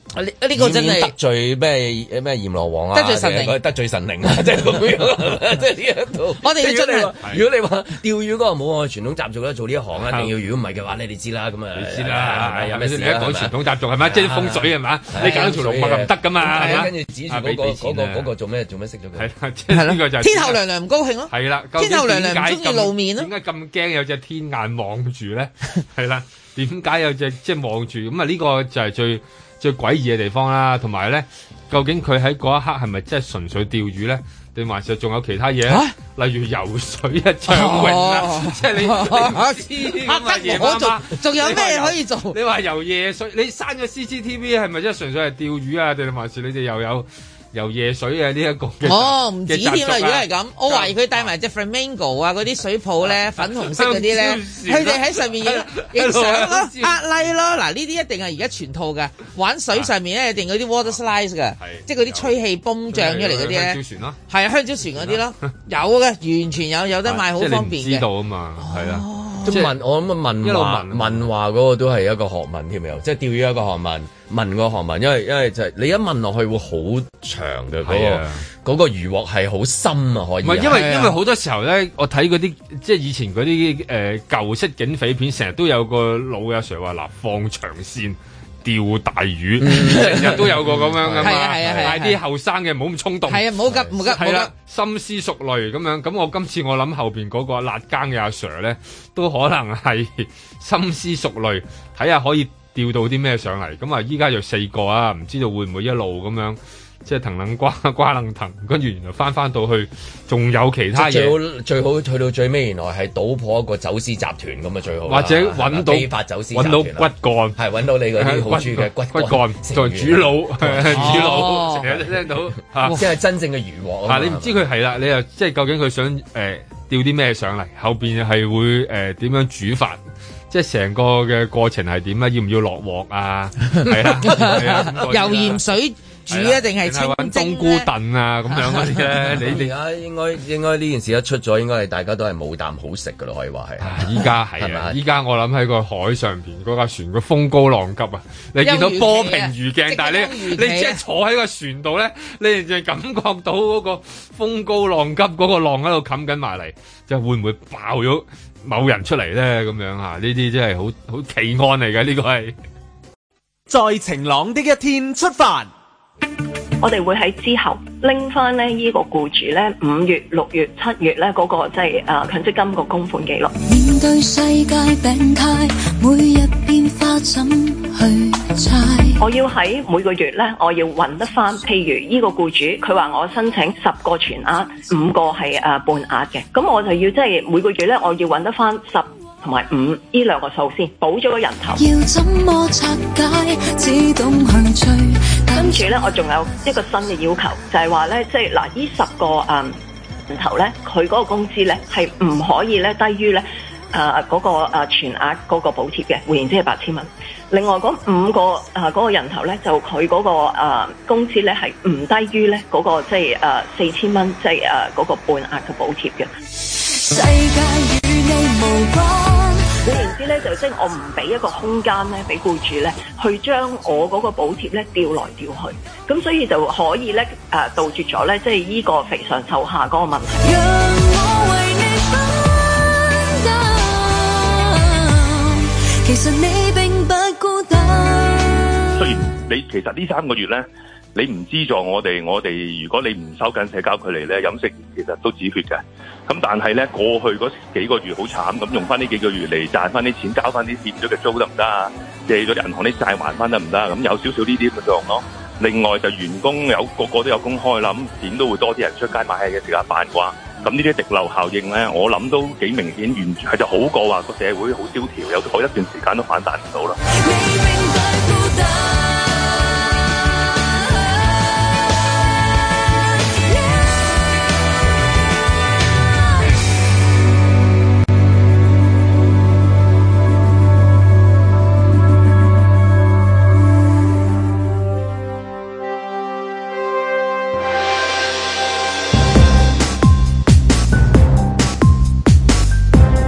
呢呢個真係
得罪咩咩閻羅王啊，
得罪神靈，
得罪神靈啊，即係咁樣，即係呢一度。
我哋真係，
如果你話釣魚嗰個冇我傳統習俗咧，做呢一行一定要，如果唔係嘅話咧，你知啦，咁啊，
你知啦，有咩事？你一講傳統習俗係咪？即係風水係嘛？你搞條龍脈唔得噶嘛？
跟住指住嗰個嗰個嗰個做咩做咩識咗佢？
係啦，即係呢個就
天后娘娘唔高興咯。
係啦，
天后娘娘唔中意露面咯。
點解咁驚有隻天眼望住咧？係啦，點解有隻即係望住？咁啊呢個就係最最詭異嘅地方啦，同埋咧，究竟佢喺嗰一刻係咪真係純粹釣魚咧，定還是仲有其他嘢？啊、例如游水啊、暢泳啊，即係你你知咁啊夜媽媽，
仲有咩可以做？
你話游夜水，你刪咗 C C T V 係咪真係純粹係釣魚啊？定還是你哋又有？游夜水啊！呢一個
哦，唔止添啦！如果係咁，我懷疑佢帶埋隻 flamingo 啊，嗰啲水泡咧，粉紅色嗰啲咧，佢哋喺上面影影相咯，壓 like 咯。嗱，呢啲一定係而家全套嘅，玩水上面咧一定嗰啲 water slides 嘅，即係嗰啲吹氣泵漲出嚟嗰啲咧。香蕉船咯，係啊，香蕉船嗰啲咯，有嘅，完全有，有得賣，好方便嘅。
知道啊嘛，係啊。
即係問我諗啊，問話問話嗰個都係一個學問添又，即係釣魚一個學問，問個學問，因為因為就係你一問落去會好長嘅嗰個嗰個漁獲係好深啊，可以。唔係因為因為好多時候咧，我睇嗰啲即係以前嗰啲誒舊式警匪片，成日都有個老阿 Sir 話嗱放長線。釣大魚，成日都有個咁樣噶嘛，但係啲後生嘅唔好咁衝動，係啊，唔好急，唔急，係啦，深思熟慮咁樣。咁我今次我諗後邊嗰個辣更嘅阿 Sir 咧，都可能係深思熟慮，睇下可以釣到啲咩上嚟。咁啊，依家就四個啊，唔知道會唔會一路咁樣。即係藤撚瓜瓜撚藤，跟住原來翻翻到去，仲有其他嘢。最好最好去到最尾，原來係搗破一個走私集團咁啊，最好。或者揾到非法走私集團，揾到骨幹，係揾到你嗰啲好處嘅骨骨幹，就係主腦，主腦成日都聽到嚇，即係真正嘅漁獲。嗱，你唔知佢係啦，你又即係究竟佢想誒釣啲咩上嚟？後邊係會誒點樣煮法？即係成個嘅過程係點啊？要唔要落鑊啊？係啦，
油鹽水。煮一定係清
冬菇燉啊咁樣嗰啲咧，你哋
啊應該應該呢件事一出咗，應該係大家都係冇啖好食噶咯，可以話係。
依家係啊，依家我諗喺個海上邊嗰架船個風高浪急啊！你見到波平如鏡，但係你你即係坐喺個船度咧，你就感覺到嗰個風高浪急，嗰個浪喺度冚緊埋嚟，就會唔會爆咗某人出嚟咧？咁樣嚇，呢啲真係好好奇案嚟嘅，呢個係。
在晴朗的一天出發。
我哋會喺之後拎翻咧呢個僱主咧五月、六月、七月咧嗰個即係誒強積金個供款記錄。面對世界病態，每日變化怎去猜？我要喺每個月咧，我要揾得翻。譬如呢個僱主佢話我申請十個全額，五個係誒半額嘅，咁我就要即係每個月咧，我要揾得翻十。同埋五呢兩個數先補咗個人頭，要怎麼拆解？自動去追。跟住咧，我仲有一個新嘅要求，就係話咧，即係嗱，呢十個誒人頭咧，佢嗰個工資咧係唔可以咧低於咧誒嗰個誒全額嗰個補貼嘅，換言之係八千蚊。另外嗰五個誒嗰個人頭咧，就佢嗰個誒工資咧係唔低於咧嗰個即係誒四千蚊，即係誒嗰個半額嘅補貼嘅。世界與你無關。換言之咧，就即係我唔俾一個空間咧，俾僱主咧去將我嗰個補貼咧調來調去，咁所以就可以咧誒、呃、杜絕咗咧，即係依個肥上瘦下嗰個問題。讓我為你分擔，其實你並不孤單。雖然你其實呢三個月咧，你唔資助我哋，我哋如果你唔收緊社交距離咧，飲食其實都止血嘅。咁但係咧，過去嗰幾個月好慘，咁用翻呢幾個月嚟賺翻啲錢，交翻啲欠咗嘅租得唔得啊？借咗銀行啲債還翻得唔得啊？咁有少少呢啲咁嘅作用咯。另外就員工有個個都有公開啦，咁點都會多啲人出街買嘢嘅時間辦啩。咁呢啲滴漏效應咧，我諗都幾明顯，完全係就好過話個社會好蕭條，有好一段時間都反彈唔到啦。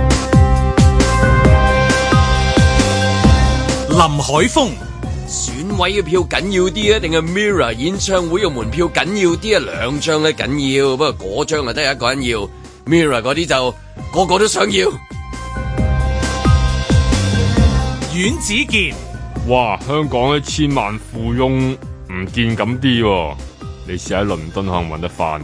林海峰，
選位嘅票緊要啲啊，定係 Mirror 演唱會嘅門票緊要啲啊？兩張咧緊要，不過嗰張啊得一個人要 ，Mirror 嗰啲就個個都想要。
阮子健，
哇！香港嘅千萬富翁唔見咁啲喎，你試喺倫敦可能揾得翻嘅。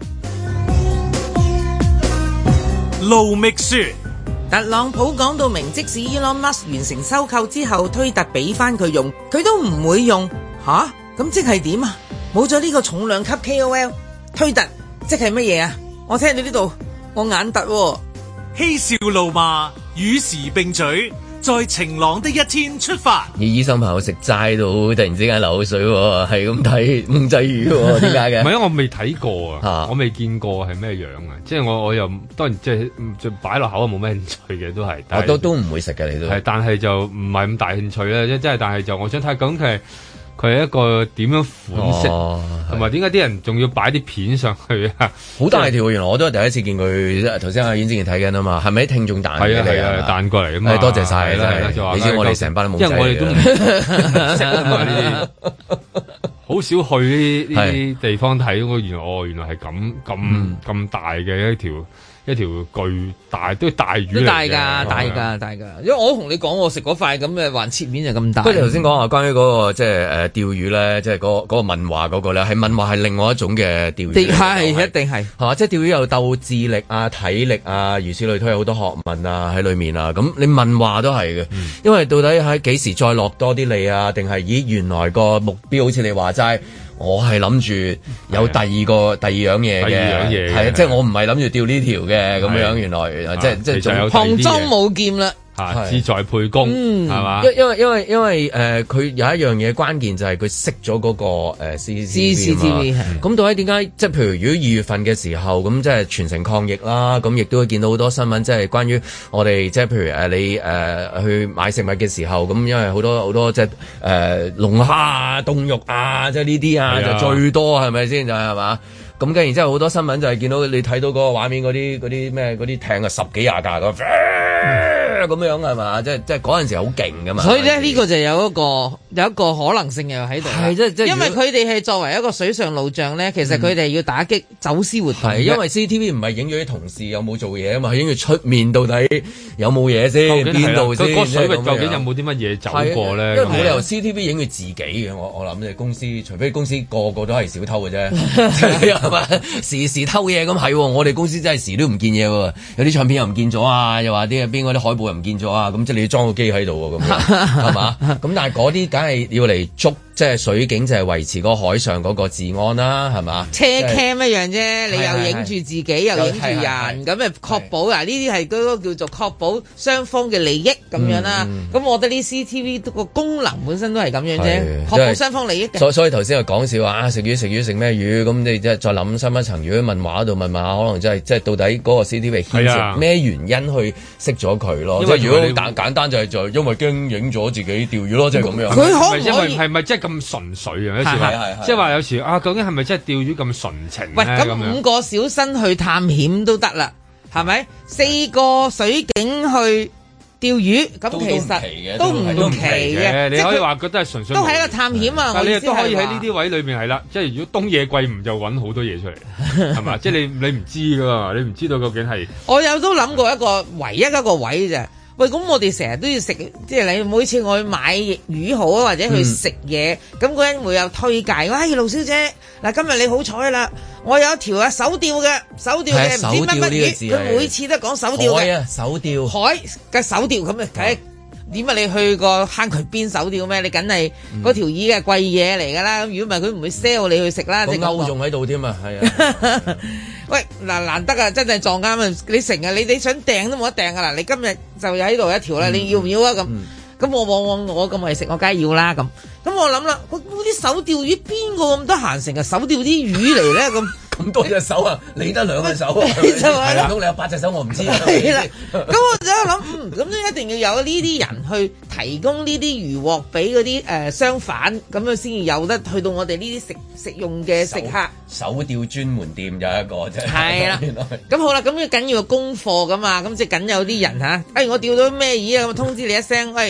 盧覓雪，
特朗普講到明，即使 Elon Musk 完成收購之後，推特俾翻佢用，佢都唔會用。吓？咁即係點啊？冇咗呢個重量級 K O L， 推特即係乜嘢啊？我聽到呢度，我眼突喎。
嬉笑怒罵，與時並舉。在晴朗的一天出發。
而醫生朋友食齋到突然之間流口水喎，係咁睇五仔魚喎，點解嘅？
唔係啊，我未睇過啊，
啊
我未見過係咩樣啊，即係我我又當然即係就擺落口啊，冇咩興趣嘅都係。
我都都唔會食嘅，你都係，
但係就唔係咁大興趣咧，即係但係就我想睇咁佢係。佢係一個點樣款式，同埋點解啲人仲要擺啲片上去啊？
好大條，原來我都係第一次見佢。頭先阿阮之前睇緊啊嘛，係咪啲聽眾彈嘅嚟啊？
彈過嚟啊嘛！
多謝晒啦，你知我哋成班都冇仔，
因為我哋都唔識啊嘛呢啲，好少去呢呢啲地方睇。我原來哦，原來係咁咁咁大嘅一條。一條巨大都大魚嚟嘅，
都大㗎，大㗎，大㗎。因為我同你講，我食嗰塊咁嘅橫切面就咁大。
不過你頭先講話關於嗰、那個即係誒釣魚咧，即係嗰個嗰個問話嗰個咧，係問話係另外一種嘅釣魚。
係一定係
係嘛？即係釣魚有鬥智力啊、體力啊，如此類推，有好多學問啊喺裏面啊。咁你問話都係嘅，嗯、因為到底喺幾時再落多啲利啊？定係咦原來個目標好似你話齋。我係諗住有第二個第二樣嘢嘅，係啊，即係我唔係諗住釣呢條嘅咁樣，原來即係即係仲
旁裝冇劍啦。
啊，志在沛公，係嘛？
因因為因為因為誒，佢有一樣嘢關鍵就係佢熄咗嗰個誒 C C T V 嘛。咁到底點解？即係譬如如果二月份嘅時候，咁即係全城抗疫啦，咁亦都會見到好多新聞，即係關於我哋即係譬如誒你誒去買食物嘅時候，咁因為好多好多即係誒龍蝦啊、凍肉啊，即係呢啲啊就最多係咪先？就係係嘛？咁跟然之後好多新聞就係見到你睇到嗰個畫面嗰啲嗰啲咩嗰啲艇啊十幾廿架咁。咁樣係嘛？即係即係嗰陣時好勁噶嘛。
所以咧呢個就有一個有一個可能性又喺度。係即即因為佢哋係作為一個水上路障咧，其實佢哋要打擊走私活動。係
因為 C C T V 唔係影咗啲同事有冇做嘢啊嘛，係影住出面到底有冇嘢先，邊度先？
個水域究竟有冇啲乜嘢走過咧？
因為冇理由 C C T V 影佢自己嘅，我我諗即係公司，除非公司個個都係小偷嘅啫，係嘛？時時偷嘢咁係，我哋公司真係時都唔見嘢喎，有啲唱片又唔見咗啊，又話啲邊嗰啲海報又唔見咗啊，咁即係你要裝個機喺度喎，咁係嘛？咁但係嗰啲梗係要嚟捉。即係水警就係維持個海上嗰個治安啦，係嘛？
車 cam 一樣啫，你又影住自己，又影住人，咁誒確保嗱呢啲係嗰個叫做確保雙方嘅利益咁樣啦。咁我覺得呢 C C T V 個功能本身都係咁樣啫，確保雙方利益嘅。
所所以頭先又講笑話啊，食魚食魚食咩魚？咁你即係再諗深一層，如果問話度問下，可能真係即係到底嗰個 C C T V 牽涉咩原因去熄咗佢咯？即係如果簡簡單就係就因為驚影咗自己釣魚咯，即係咁樣。
佢可唔
因為係咪即係咁純粹啊？有時話即係話有時啊，究竟係咪真係釣魚咁純情？
喂，咁五個小生去探險都得啦，係咪？四個水警去釣魚，咁其實都唔奇嘅。
你可以話覺得係純粹，
都係一個探險啊！
但係你都可以喺呢啲位裏面係啦，即係如果東野圭吾就揾好多嘢出嚟，係嘛？即係你你唔知噶嘛，你唔知道究竟係。
我有都諗過一個唯一一個位啫。喂，咁我哋成日都要食，即係你每次我去買魚好啊，或者去食嘢，咁嗰人會有推介。喂，盧小姐，嗱今日你好彩啦，我有一條啊手釣嘅，手釣嘅唔知乜乜魚，佢每次都講手釣嘅。
海啊，手釣。
海嘅手釣咁啊，睇點解你去個坑渠邊手釣咩？你梗係嗰條魚嘅貴嘢嚟㗎啦。如果唔係佢唔會 sell 你去食啦。
個鈎仲喺度添啊，係啊。
喂，嗱難得啊，真係撞啱啊！你成日你你想訂都冇得訂噶啦，你今日就喺度一條啦，你要唔要啊？咁咁、嗯、我往往我咁為食，我梗係要啦。咁咁我諗啦，嗰啲手釣魚邊個咁得閒成日手釣啲魚嚟咧？咁
咁多隻手啊，你得兩隻手啊，係啦，唔通你有八隻手我唔知啊。
係啦，咁我就喺度諗，嗯，咁都一定要有呢啲人去提供呢啲魚獲俾嗰啲誒商販，咁樣先至有得去到我哋呢啲食食用嘅食客。
手釣專門店有一個啫。
係啦，咁好啦，咁要緊要個功課噶嘛，咁即係緊有啲人嚇，誒我釣到咩魚啊，咁通知你一聲，喂。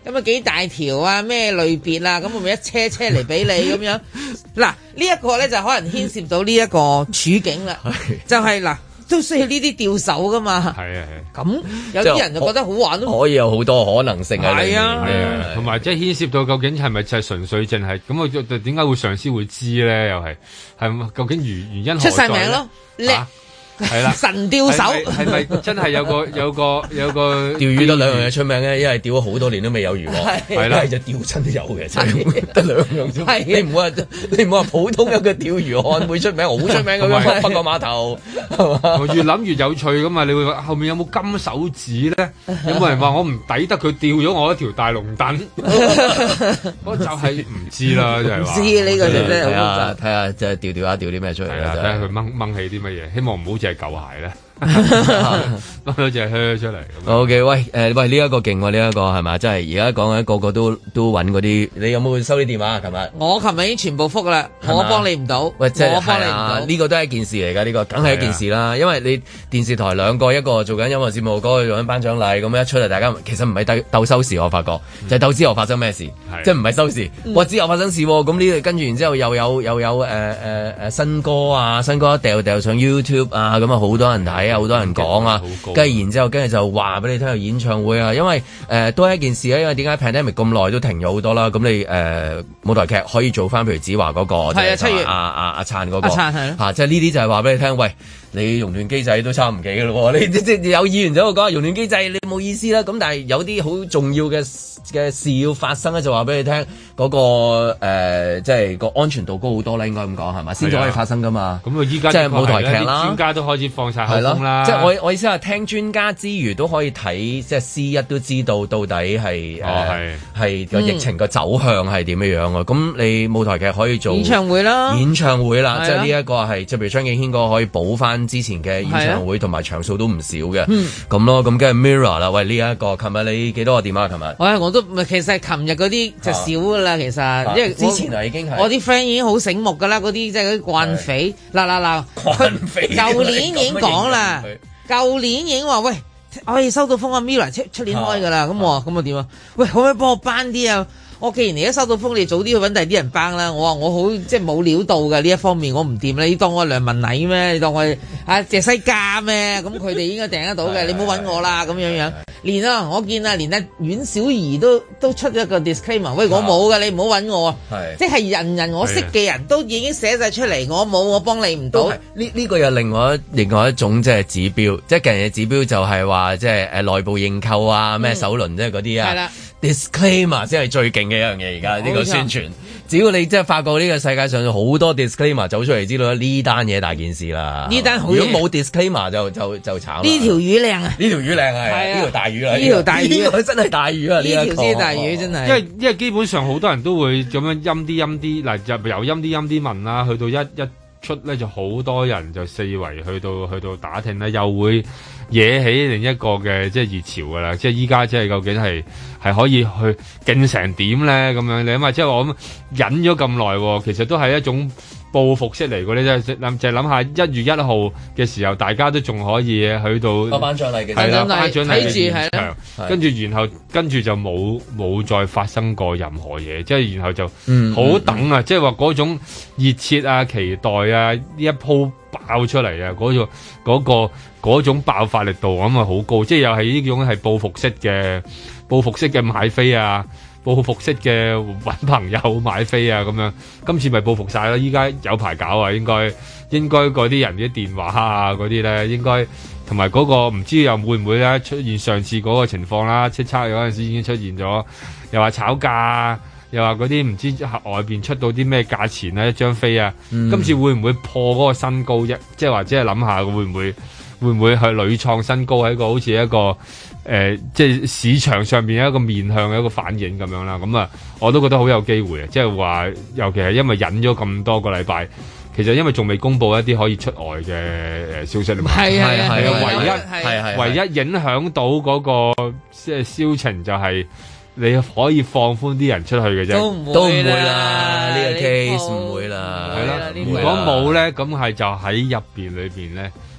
咁啊幾大條啊，咩類別啊，咁我咪一車車嚟俾你咁樣。嗱，呢一個咧就可能牽涉到呢一個處境啦，就係嗱。都需要呢啲吊手噶嘛，係啊係。咁有啲人就覺得好玩咯，
可以有好多可能性喺裏面。係
啊，同埋即係牽涉到究竟係咪就係純粹淨係咁？我點解會上司會知咧？又係係究竟原原因何在？
出晒名咯，叻。
係啦，
神釣手
係咪真係有個有個有個
釣魚得兩樣嘢出名嘅，一係釣咗好多年都未有魚喎，係啦，一係就釣親都有嘅，真係得兩樣啫。你唔好話你唔好話普通有個釣魚漢會出名，好出名咁樣北角碼頭係嘛？越諗越有趣㗎嘛！你會話後面有冇金手指咧？有冇人話我唔抵得佢釣咗我一條大龍躉？我就係唔知啦，就係話。唔知呢個真係睇下睇下即係釣釣下釣啲咩出嚟啦，
睇下佢掹掹起啲乜嘢，希望唔好係舊鞋咧，掹到隻靴出嚟。
O K， 喂，誒、呃，喂，呢、這、一個勁喎，呢、這、一個係咪？真係而家講緊個個都都揾嗰啲，你有冇收啲電話啊？琴日
我琴日已經全部覆啦，我幫你唔到，
喂，即係
我幫你唔到。
呢、這個都係一件事嚟㗎，呢、這個梗係一件事啦。啊、因為你電視台兩個，一個做緊音樂節目，嗰、那個做緊頒獎禮，咁一出嚟，大家其實唔係鬥鬥收視，我發覺、嗯、就係鬥之後發生咩事，嗯、即係唔係收視。哇、嗯！之後發生事喎，咁呢？跟住然之後又有又有誒誒誒新歌啊，新歌一掉掉上 YouTube 啊，咁啊好多人睇。係啊，好多人講啊，跟住然之後，跟住就話俾你聽有演唱會啊，因為誒、呃、都係一件事啊，因為點解 pandemic 咁耐都停咗好多啦，咁你誒、呃、舞台劇可以做翻，譬如子華嗰、那個，係啊，七月阿阿阿燦嗰個，阿燦係咯，即係呢啲就係話俾你聽，喂。你熔斷機制都差唔幾嘅咯喎，你即即有議員就喺度講熔斷機制，你冇意思啦。咁但係有啲好重要嘅嘅事要發生咧，就話俾你聽嗰、那個誒、呃，即係個安全度高好多啦，應該咁講係嘛，先至可以發生噶嘛。咁啊，依家即係舞台劇啦，
專家都開始放晒口風啦。
即係我我意思係聽專家之餘都可以睇，即係 C 一都知道到底係誒係個疫情個走向係點樣樣啊。咁、嗯、你舞台劇可以做
演唱會啦，
演唱會啦，即係呢一個係即係譬如張敬軒個可以補翻之前嘅演唱會同埋場數都唔少嘅，咁、嗯、咯，咁跟住 Mirror 啦，喂呢一、這個，琴日你幾多個電話？琴日，
我我都其實琴日嗰啲就少噶啦、啊，其實，啊、因為
之前啊已經係
我啲 friend 已經好醒目噶啦，嗰啲即係嗰啲慣匪，嗱嗱嗱，慣匪，舊年已經講啦，舊年已經話喂，我哋收到風啊 Mirror 出出年開噶啦，咁、啊、我咁我點啊？喂，可唔可以幫我班啲啊？我既然而家收到風，你早啲去揾第二啲人幫啦。我話我好即係冇料到嘅呢一方面，我唔掂啦。你當我梁文禮咩？你當我啊謝西嘉咩？咁佢哋應該訂得到嘅，你唔好揾我啦咁樣樣。連啊，我見啊，連阿阮小儀都都出咗個 disclaimer，喂，我冇嘅，你唔好揾我。即係人人我識嘅人都已經寫晒出嚟，我冇，我幫你唔到。呢
呢、這個又另外一另外一種即係指標，即係近日嘅指標就係話即係誒內部認購啊，咩首輪即係嗰啲啊。係啦。disclaimer 先係最勁嘅一樣嘢，而家呢個宣傳，只要你即係發覺呢個世界上有好多 disclaimer 走出嚟，知道呢單嘢大件事啦。呢單好，如果冇 disclaimer 就就就慘。
呢條魚靚啊！呢
條魚靚係呢條大魚啦！
呢條大魚，呢
個真係大魚啊！呢
條先大魚真係。
因為因為基本上好多人都會咁樣陰啲陰啲，嗱就由陰啲陰啲問啦，去到一一出咧就好多人就四圍去到去到打聽咧，又會惹起另一個嘅即係熱潮噶啦，即係依家即係究竟係係可以去勁成點咧咁樣？你諗下，即係我諗忍咗咁耐，其實都係一種報復式嚟嘅咧，即係諗就係諗下一月一號嘅時候，大家都仲可以去到
頒獎禮嘅
係啦，頒獎禮嘅現場，跟住然後跟住就冇冇再發生過任何嘢，即係然後就好等啊！嗯嗯、即係話嗰種熱切啊、期待啊，呢一鋪爆出嚟啊，嗰、嗰個嗰、嗰個嗰種爆發力度咁啊好高，即係又係呢種係報復式嘅報復式嘅買飛啊！報復式嘅揾朋友買飛啊咁樣，今次咪報復晒啦！依家有排搞啊，應該應該嗰啲人啲電話啊嗰啲咧，應該同埋嗰個唔知又會唔會咧出現上次嗰個情況啦？叱咤嗰陣時已經出現咗，又話炒價，又話嗰啲唔知外邊出到啲咩價錢啊一張飛啊，嗯、今次會唔會破嗰個新高啫？即係或者係諗下會唔會會唔會去屢創新高喺個好似一個？誒、呃，即係市場上邊有一個面向嘅一個反應咁樣啦，咁啊，我都覺得好有機會啊！即係話，尤其係因為忍咗咁多個禮拜，其實因為仲未公布一啲可以出外嘅誒消息啊嘛，係係係，唯一係係唯一影響到嗰個即係銷情就係你可以放寬啲人出去嘅啫，
都唔會啦，
呢個 case 唔會啦，
係啦，如果冇咧，咁係就喺入邊裏邊咧。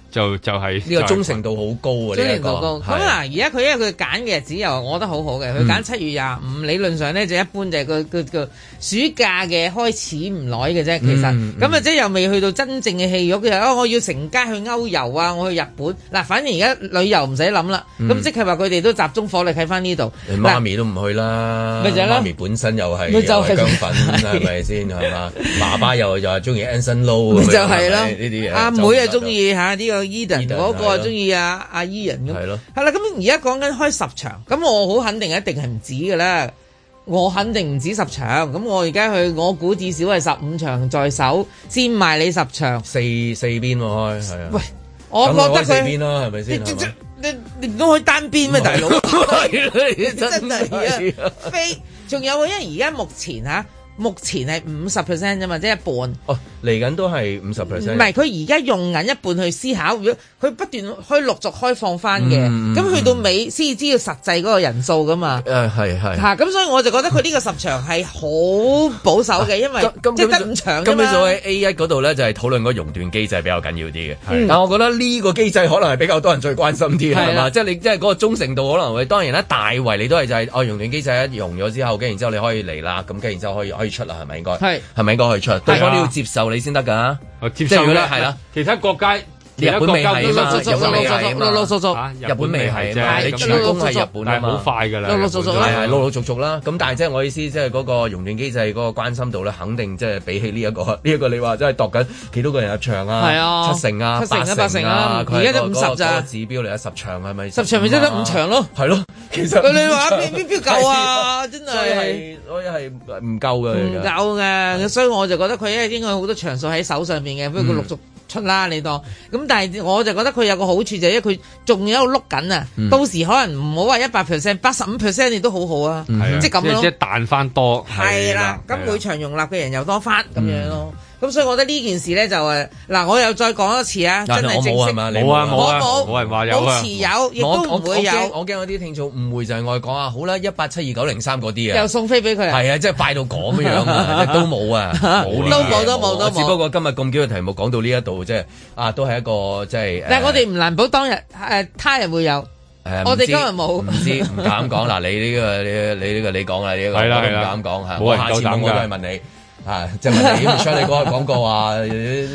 就就係
呢個忠誠度好高啊！
忠誠度高。咁嗱，而家佢因為佢揀嘅日子又我覺得好好嘅，佢揀七月廿五，理論上咧就一般就係個個個暑假嘅開始唔耐嘅啫。其實咁啊，即係又未去到真正嘅戲肉嘅。哦，我要成家去歐遊啊，我去日本嗱，反正而家旅遊唔使諗啦。咁即係話佢哋都集中火力喺翻呢度。
你媽咪都唔去啦，
咪就係咯。
媽咪本身又係又係姜粉，係咪先係嘛？爸爸又又係中意 Anson Lo，咪就係咯呢啲嘢。阿妹啊，中意嚇呢個 Eden 嗰個啊，中意阿阿 Ian 咁。係咯，係啦。咁而家講緊開十場，咁我好肯定一定係唔止㗎啦。我肯定唔止十場，咁我而家去，我估至少係十五場在手，先賣你十場。 四四邊喎開，係啊。喂，
我覺得佢
四邊啦，係咪先？
你你唔都開單邊咩，大佬？
真係
啊，飛，仲有啊，因為而家目前嚇。目前係五十 percent 啫嘛，即係一半。
哦，嚟緊都係五十 percent。
唔係，佢而家用緊一半去思考，如果佢不斷可以陸續開放翻嘅，咁、嗯、去到尾先至知道實際嗰個人數噶嘛。誒
係係。
嚇，咁所以我就覺得佢呢個十場係好保守嘅，因為即係得五場啫嘛。
咁你所喺 A 一嗰度咧，就係討論嗰個熔斷機制比較緊要啲嘅。
嗯、
但我覺得呢個機制可能係比較多人最關心啲係嘛？即係你即係嗰個忠誠度可能會當然啦，大圍你都係就係、是、哦熔斷機制一熔咗之後，跟然之後你可以嚟啦，咁跟然之後可以可以出啦，係咪應該？係，係咪應該可以出？對方都要接受你先得㗎。
接受咧，係啦。其他國家，
日本未係嘛？日本未係嘛？
陸陸續續，
日本未係啫。你主攻係日本啊嘛，
好快㗎啦。
陸陸續續
係係陸陸續續啦。咁但係即係我意思，即係嗰個熔斷機制嗰個關心度咧，肯定即係比起呢一個呢一個，你話真係度緊幾多個人入場啊？係啊，七成啊，八成啊，
而家都五十咋？
指標嚟啊，十場係咪？
十場咪真得五場咯。
係咯，其實
你話邊邊邊夠啊？真係，
所以係所以係唔夠嘅，
唔夠嘅。所以我就覺得佢因為應該好多場數喺手上邊嘅，不過佢陸續出啦，你當咁。但係我就覺得佢有個好處就係因為佢仲有碌緊啊，嗯、到時可能唔好話一百 percent， 八十五 percent 你都好好啊，嗯、即係咁咯。
即係彈翻多。
係啦，咁每場容納嘅人又多翻咁樣咯。咁所以我覺得呢件事咧就誒嗱，我又再講一次啊，真係正式
冇啊
冇啊
冇
冇人話有啊，
冇持有，亦都唔會有。
我驚我啲聽眾誤會就係我哋講啊，好啦，一八七二九零三嗰啲啊，
又送飛俾佢。
係啊，即係快到咁樣啊，都冇啊，冇
都冇都冇都冇。
只不過今日咁幾個題目講到呢一度，即係啊，都係一個即係。
但係我哋唔難保當日誒他日會有。我哋今日冇，
唔知唔敢講嗱。你呢個你你呢個你講啦，呢個我都唔敢講嚇。
冇人夠膽㗎。
下次我都係問你。啊！即係問你，唔想你嗰個廣告啊，好似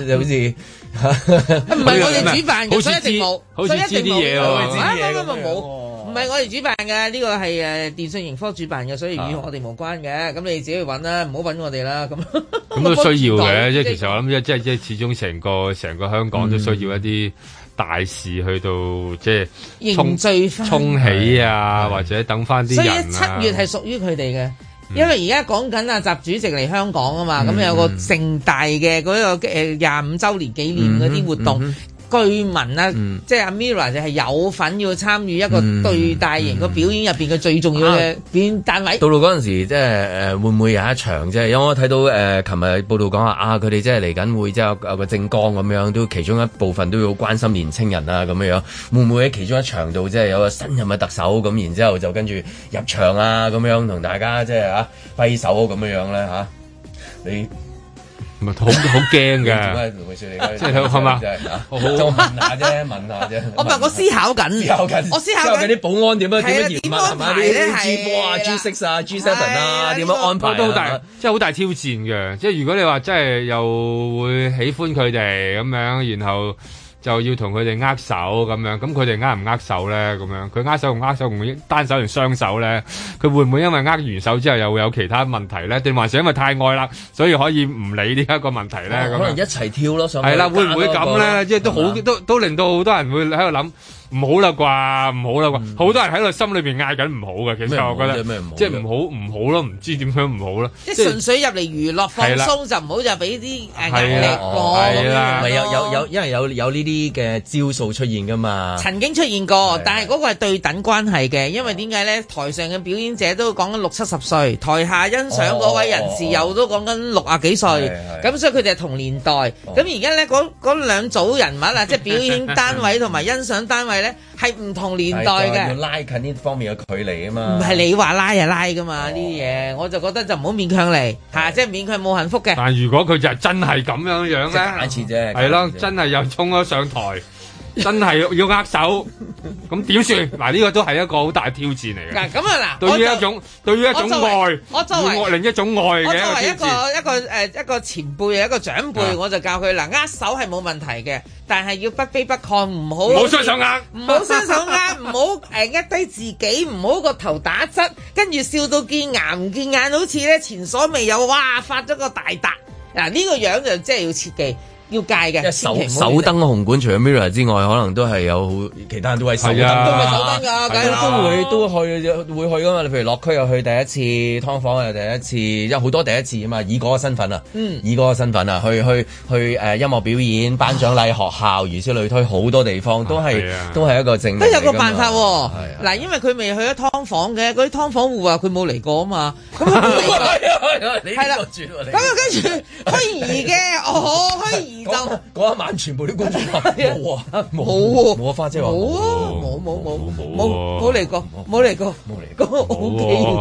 唔係我哋主辦嘅，所以一定冇，
所以一定冇啲嘢喎。
唔冇，唔係我哋主辦嘅，呢個係誒電訊盈科主辦嘅，所以與我哋無關嘅。咁你自己去揾啦，唔好揾我哋啦。咁
咁都需要嘅，即係其實我諗，即係即係始終成個成個香港都需要一啲大事去到即係
凝聚翻、
沖起啊，或者等翻啲人啊。
所以七月係屬於佢哋嘅。因為而家講緊啊，習主席嚟香港啊嘛，咁、嗯、有個盛大嘅嗰個誒廿五週年紀念嗰啲活動。嗯嗯據聞啊，嗯、即係阿 Mira 就係有份要參與一個最大型個表演入邊嘅最重要嘅表演單位。
到到嗰陣時，即係誒會唔會有一場即係？因為我睇到誒琴日報道講話啊，佢哋即係嚟緊會即係有個政綱咁樣，都其中一部分都要關心年青人啊咁樣樣。會唔會喺其中一場度即係有個新任嘅特首咁，然之後就跟住入場啊咁樣同大家即係啊揮手咁樣樣咧嚇？你？
唔係好好驚嘅，
即係係嘛？我問下啫，問下啫。
我唔係我思考緊，
思考緊，
我思考緊
啲保安點樣點樣嚴啊？係嘛？啲 G 四啊、G 六啊、G 七啊，點樣安排
都好大，即係好大挑戰嘅。即係如果你話真係又會喜歡佢哋咁樣，然後就要同佢哋握手咁樣，咁佢哋握唔握手咧？咁樣佢握手同握手，會唔會單手同雙手咧？佢會唔會因為握完手之後又會有其他問題咧？定還是因為太愛啦，所以可以唔理呢一個問題咧？咁、哦、
可能一齊跳咯，上係
啦，會唔會咁咧？即係都好，都都令到好多人會喺度諗。唔好啦啩，唔好啦啩，好、嗯、多人喺度心裏邊嗌緊唔好嘅，其實我覺得即係唔好唔好咯，唔知點樣唔好咯。
即係純粹入嚟娛樂放鬆就唔好就俾啲誒壓力過咁樣。
唔係有有有，因為有有呢啲嘅招數出現噶嘛。
曾經出現過，但係嗰個係對等關係嘅，因為點解咧？台上嘅表演者都講緊六七十歲，台下欣賞嗰位人士又都講緊六啊幾歲，咁所以佢哋係同年代。咁而家咧嗰嗰兩組人物啊，即係表演單位同埋欣賞單位。係唔同年代嘅，
要拉近呢方面嘅距離啊嘛。
唔係你話拉就拉噶嘛，呢啲嘢我就覺得就唔好勉強嚟嚇，即係勉強冇幸福嘅。
但係如果佢就真係咁樣樣咧，
假設啫，
係咯，真係又衝咗上台， 真係要握手，咁點算？嗱，呢個都係一個好大挑戰嚟嘅。
嗱，咁啊嗱，
對於一種對於一種愛，
我作為
另一種愛嘅
我作為一
一個
個一個誒一個前輩一個長輩，我就教佢嗱，握手係冇問題嘅，但係要不卑不亢，唔好唔
好雙手握，
唔好雙手握，唔好誒呃低自己，唔好個頭打側，跟住笑到見牙唔見眼，好似咧前所未有，哇發咗個大達。嗱，呢個樣就真係要切記。要戒嘅，
手手燈紅館除咗 Mirror 之外，可能都係有其他人都係手燈，
都係手燈㗎，梗係
都會都去會去㗎嘛。你譬如落區又去第一次，劏房又第一次，有好多第一次啊嘛。以嗰個身份啊，嗯、以嗰個身份啊，去去去誒、呃、音樂表演、頒獎禮、學校，如此類推，好多地方都係、啊、都係一個證明。都有個辦法喎、哦，嗱、啊，因為佢未去咗劏房嘅，嗰啲劏房戶話佢冇嚟過啊嘛，咁佢冇嚟過，係啦，咁啊跟住虛擬嘅，哦虛擬。就嗰一晚全部啲觀眾話冇啊冇
冇
冇啊花姐話
冇啊冇冇冇冇冇嚟過冇嚟過冇嚟過 O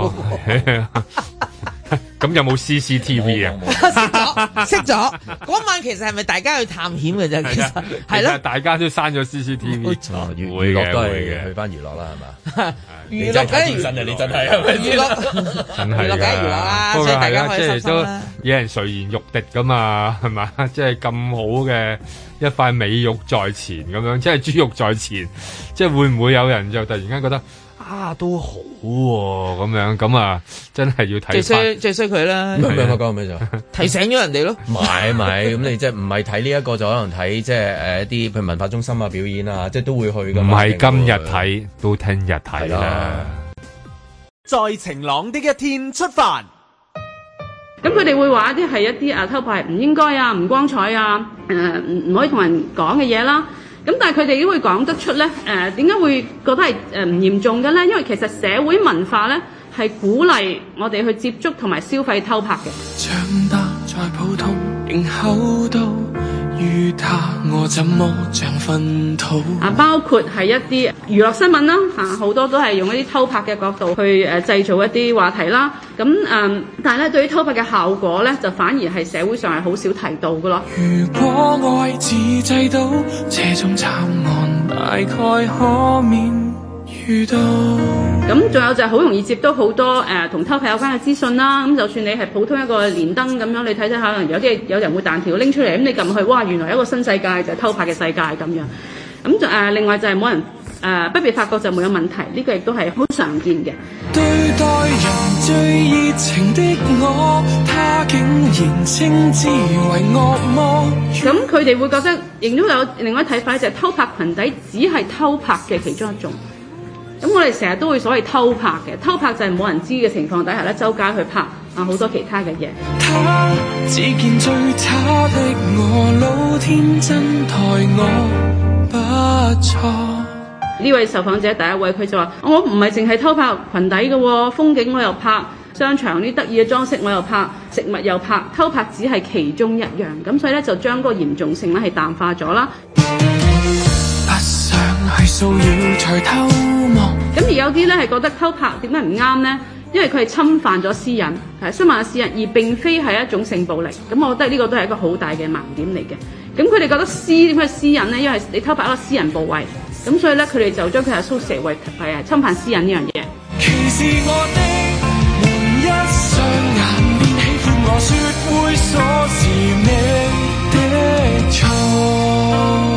K 喎。
咁有冇 C C T V 啊？
熄咗熄咗嗰晚其實係咪大家去探險嘅啫？其實係咯，
大家都刪咗 C C T V。
娛樂都係去翻娛樂啦，係嘛？
娛樂梗係娛樂啊！你真係係咪娛樂？
真係
娛樂梗係娛樂啦，所以大家開心心啦。
有人垂涎欲滴噶嘛，係嘛？即係咁好嘅一塊美肉在前咁樣，即係豬肉在前，即係會唔會有人就突然間覺得啊都好喎咁樣咁啊？真係要睇
最衰最衰佢啦！
咩咩講咩就
提醒咗人哋咯。
唔係唔係，咁你即係唔係睇呢一個就可能睇即係誒一啲譬如文化中心啊表演啊，即係都會去噶。
唔係今日睇，都聽日睇啦。
在晴朗的一天出發。
咁佢哋會話一啲係一啲啊偷拍唔應該啊唔光彩啊誒唔唔可以同人講嘅嘢啦。咁但係佢哋都會講得出咧誒點解會覺得係誒唔嚴重嘅咧？因為其實社會文化咧係鼓勵我哋去接觸同埋消費偷拍嘅。長大在普通仍厚道於他我怎麼像糞土啊，包括係一啲娛樂新聞啦嚇，好多都係用一啲偷拍嘅角度去誒製造一啲話題啦。咁誒、嗯，但係咧對於偷拍嘅效果咧，就反而係社會上係好少提到嘅咯。如果愛自製到這種慘案，大概可免遇到。咁仲有就係好容易接到好多誒同、呃、偷拍有關嘅資訊啦。咁就算你係普通一個連登咁樣，你睇睇下，可能有啲有人會彈條拎出嚟，咁你撳去，哇！原來有一個新世界就係、是、偷拍嘅世界咁樣。咁就誒另外就係冇人誒、呃、不被發覺就冇有問題，呢、這個亦都係好常見嘅。對待人最熱情的我，他竟然稱之為惡魔。咁佢哋會覺得，亦都有另外一睇法，就係偷拍裙底只係偷拍嘅其中一種。咁我哋成日都會所謂偷拍嘅，偷拍就係冇人知嘅情況底下咧，周街去拍啊好多其他嘅嘢。他只見最差的我，老天真待我不錯。呢位受訪者第一位，佢就話：我唔係淨係偷拍裙底嘅喎，風景我又拍，商場啲得意嘅裝飾我又拍，食物又拍，偷拍只係其中一樣。咁所以咧就將嗰個嚴重性咧係淡化咗啦。不想係騷擾才偷望。咁而有啲咧係覺得偷拍點解唔啱咧？因為佢係侵犯咗私隱，係侵犯咗私隱，而並非係一種性暴力。咁我覺得呢個都係一個好大嘅盲點嚟嘅。咁佢哋覺得私點解私隱咧？因為你偷拍一個私人部位，咁所以咧佢哋就將佢係 associate 為係侵犯私隱呢樣嘢。歧視我的門一雙眼便喜歡我說猥瑣是你的錯。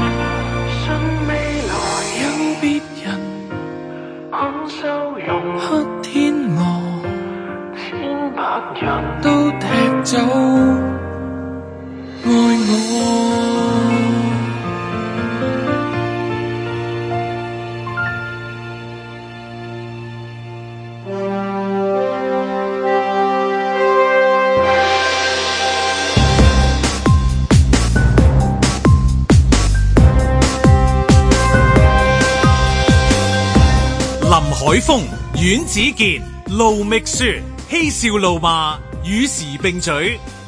黑天鵝，千百人都踢走愛我。
林海峰、阮子健、盧覓雪，嬉笑怒罵，與時並舉，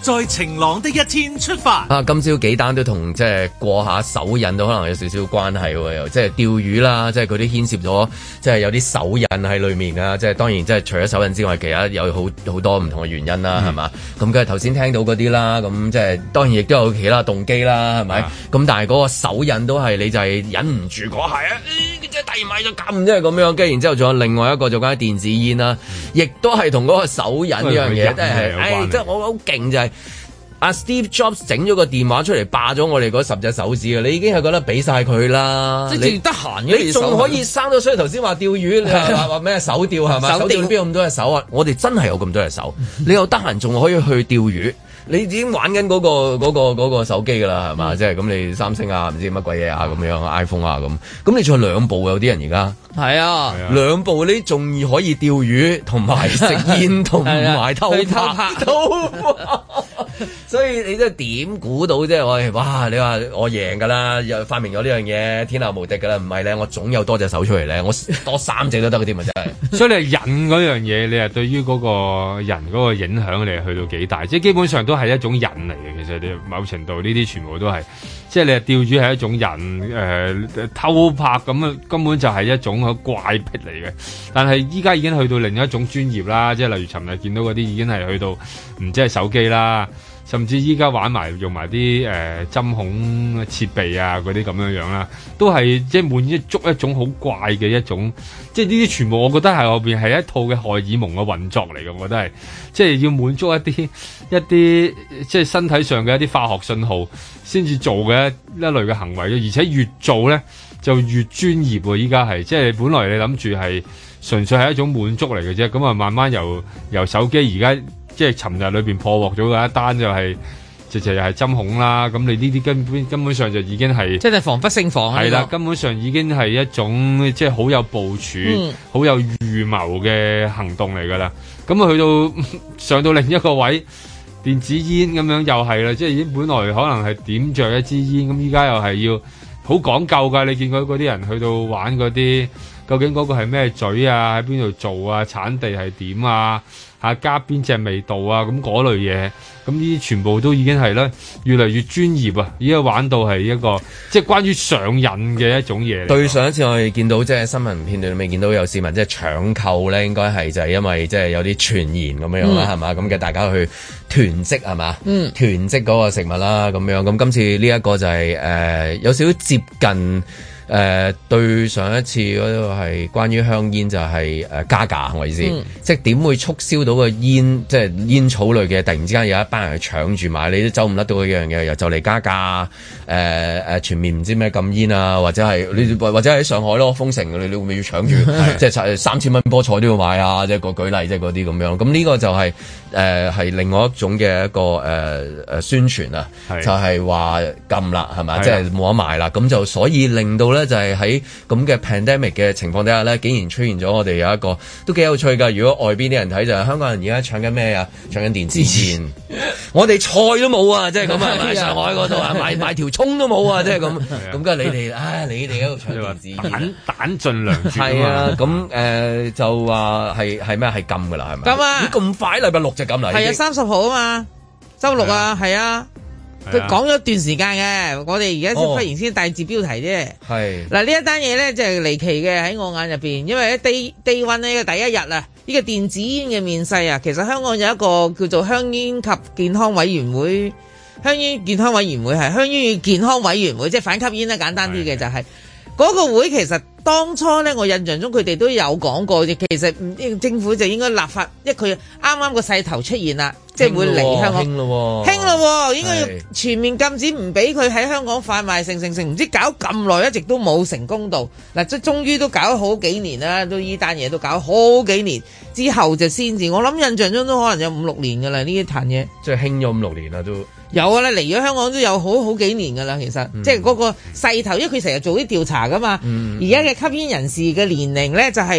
在晴朗的一天出發。
啊，今朝幾單都同即係過下手癮都可能有少少關係喎，又即係釣魚啦，即係佢啲牽涉咗，即係有啲手癮喺裏面啊！即係當然即係除咗手癮之外，其他有好好多唔同嘅原因啦，係嘛、嗯？咁跟住頭先聽到嗰啲啦，咁即係當然亦都有其他動機啦，係咪？咁、嗯、但係嗰個手癮都係你就係忍唔住嗰下啊！即係遞埋就撳，即係咁樣。跟住然之後仲有另外一個就關於電子煙啦，亦都係同嗰個手癮呢樣嘢，即係誒，即係我好勁就係、是。阿 Steve Jobs 整咗個電話出嚟霸咗我哋嗰十隻手指嘅，你已經係覺得俾晒佢啦。即係你得閒嘅，你仲可以生到。所以頭先話釣魚，你話話咩手釣係嘛？手釣邊有咁多隻手啊？我哋真係有咁多隻手。你又得閒仲可以去釣魚，你已經玩緊嗰、嗰個嗰、嗰個嗰個手機㗎啦，係嘛？即係咁你三星啊，唔知乜鬼嘢啊咁樣 iPhone 啊咁，咁你仲有兩部有啲人而家。係啊，兩部你仲可以釣魚，同埋食煙，同埋偷拍，偷拍。所以你真係點估到啫？我哇！你話我贏㗎啦，又發明咗呢樣嘢，天下無敵㗎啦。唔係咧，我總有多隻手出嚟咧，我多三隻都得嗰啲咪真係。所以你係癮嗰樣嘢，你係對於嗰個人嗰個影響，你係去到幾大？即係基本上都係一種癮嚟嘅。其實你某程度呢啲全部都係。即係你係釣魚係一種人誒、呃、偷拍咁啊，根本就係一種好怪癖嚟嘅。但係依家已經去到另一種專業啦，即係例如尋日見到嗰啲已經係去到唔知係手機啦，甚至依家玩埋用埋啲誒針孔設備啊嗰啲咁樣樣啦，都係即係滿足一種好怪嘅一種。即係呢啲全部我覺得係後邊係一套嘅荷爾蒙嘅運作嚟嘅，我覺得係即係要滿足一啲一啲即係身體上嘅一啲化學信號先至做嘅一一類嘅行為，而且越做咧就越專業喎。依家係即係本來你諗住係純粹係一種滿足嚟嘅啫，咁啊慢慢由由手機而家即係尋日裏邊破獲咗嘅一單就係、是。直情又係針孔啦，咁你呢啲根本根本上就已經係即係防不勝防係啦，根本上已經係一種即係好有部署、好、嗯、有預謀嘅行動嚟㗎啦。咁啊去到上到另一個位，電子煙咁樣又係啦，即係已經本來可能係點着一支煙，咁依家又係要好講究㗎。你見過嗰啲人去到玩嗰啲，究竟嗰個係咩嘴啊？喺邊度做啊？產地係點啊？嚇加邊隻味道啊？咁嗰類嘢。咁呢啲全部都已經係咧，越嚟越專業啊！而家玩到係一個即係關於上癮嘅一種嘢。對上一次我哋見到即係新聞片段裏面見到有市民即係搶購咧，應該係就係因為即係有啲傳言咁樣樣啦，係嘛、嗯？咁嘅大家去囤積係嘛？嗯，囤積嗰個食物啦咁樣。咁今次呢一個就係、是、誒、呃、有少少接近。誒、呃、對上一次嗰個係關於香煙就係、是、誒、呃、加價，我意思，嗯、即係點會促銷到個煙，即係煙草類嘅，突然之間有一班人去搶住買，你都走唔甩到嗰樣嘢，又就嚟加價，誒、呃、誒全面唔知咩禁煙啊，或者係你或者喺上海咯，封城，你你會唔會要搶住，即係三千蚊菠菜都要買啊，即係個舉例，即係嗰啲咁樣，咁呢個就係誒係另外一種嘅一個誒誒、呃、宣傳啊，是就係話禁啦，係咪？即係冇得賣啦，咁就所以令到咧。就係喺咁嘅 pandemic 嘅情況底下咧，竟然出現咗我哋有一個都幾有趣㗎。如果外邊啲人睇就係香港人而家搶緊咩啊？搶緊電子煙。我哋菜都冇啊，即係咁啊！喺上海嗰度啊，買買條葱都冇啊，即係咁。咁梗係你哋，唉，你哋喺度搶電子煙，彈彈盡糧絕。係啊，咁誒就話係係咩？係禁㗎啦，係咪？禁啊！咁快禮拜六就禁啦。係啊，三十號啊嘛，週六啊，係啊。佢講咗一段時間嘅，我哋而家先忽然先大字標題啫。係嗱、哦、呢一單嘢咧，就係離奇嘅喺我眼入邊，因為喺 day day one 呢個第一日啊，呢、這個電子煙嘅面世啊，其實香港有一個叫做香煙及健康委員會，香煙健康委員會係香煙與健康委員會，即係反吸煙啦，簡單啲嘅就係、是、嗰個會其實。當初咧，我印象中佢哋都有講過，其實政府就應該立法，因為佢啱啱個勢頭出現啦，即係會嚟香港，興咯，興咯，應該要全面禁止，唔俾佢喺香港販賣，成成成，唔知搞咁耐，一直都冇成功到。嗱，即係終於都搞咗好幾年啦，都依單嘢都搞咗好幾年之後就先至，我諗印象中都可能有五六年噶啦呢一壇嘢，即係興咗五六年啦都。有啊，嚟咗香港都有好好幾年噶啦，其實、嗯、即係嗰個勢頭，因為佢成日做啲調查噶嘛。而家嘅吸煙人士嘅年齡咧就係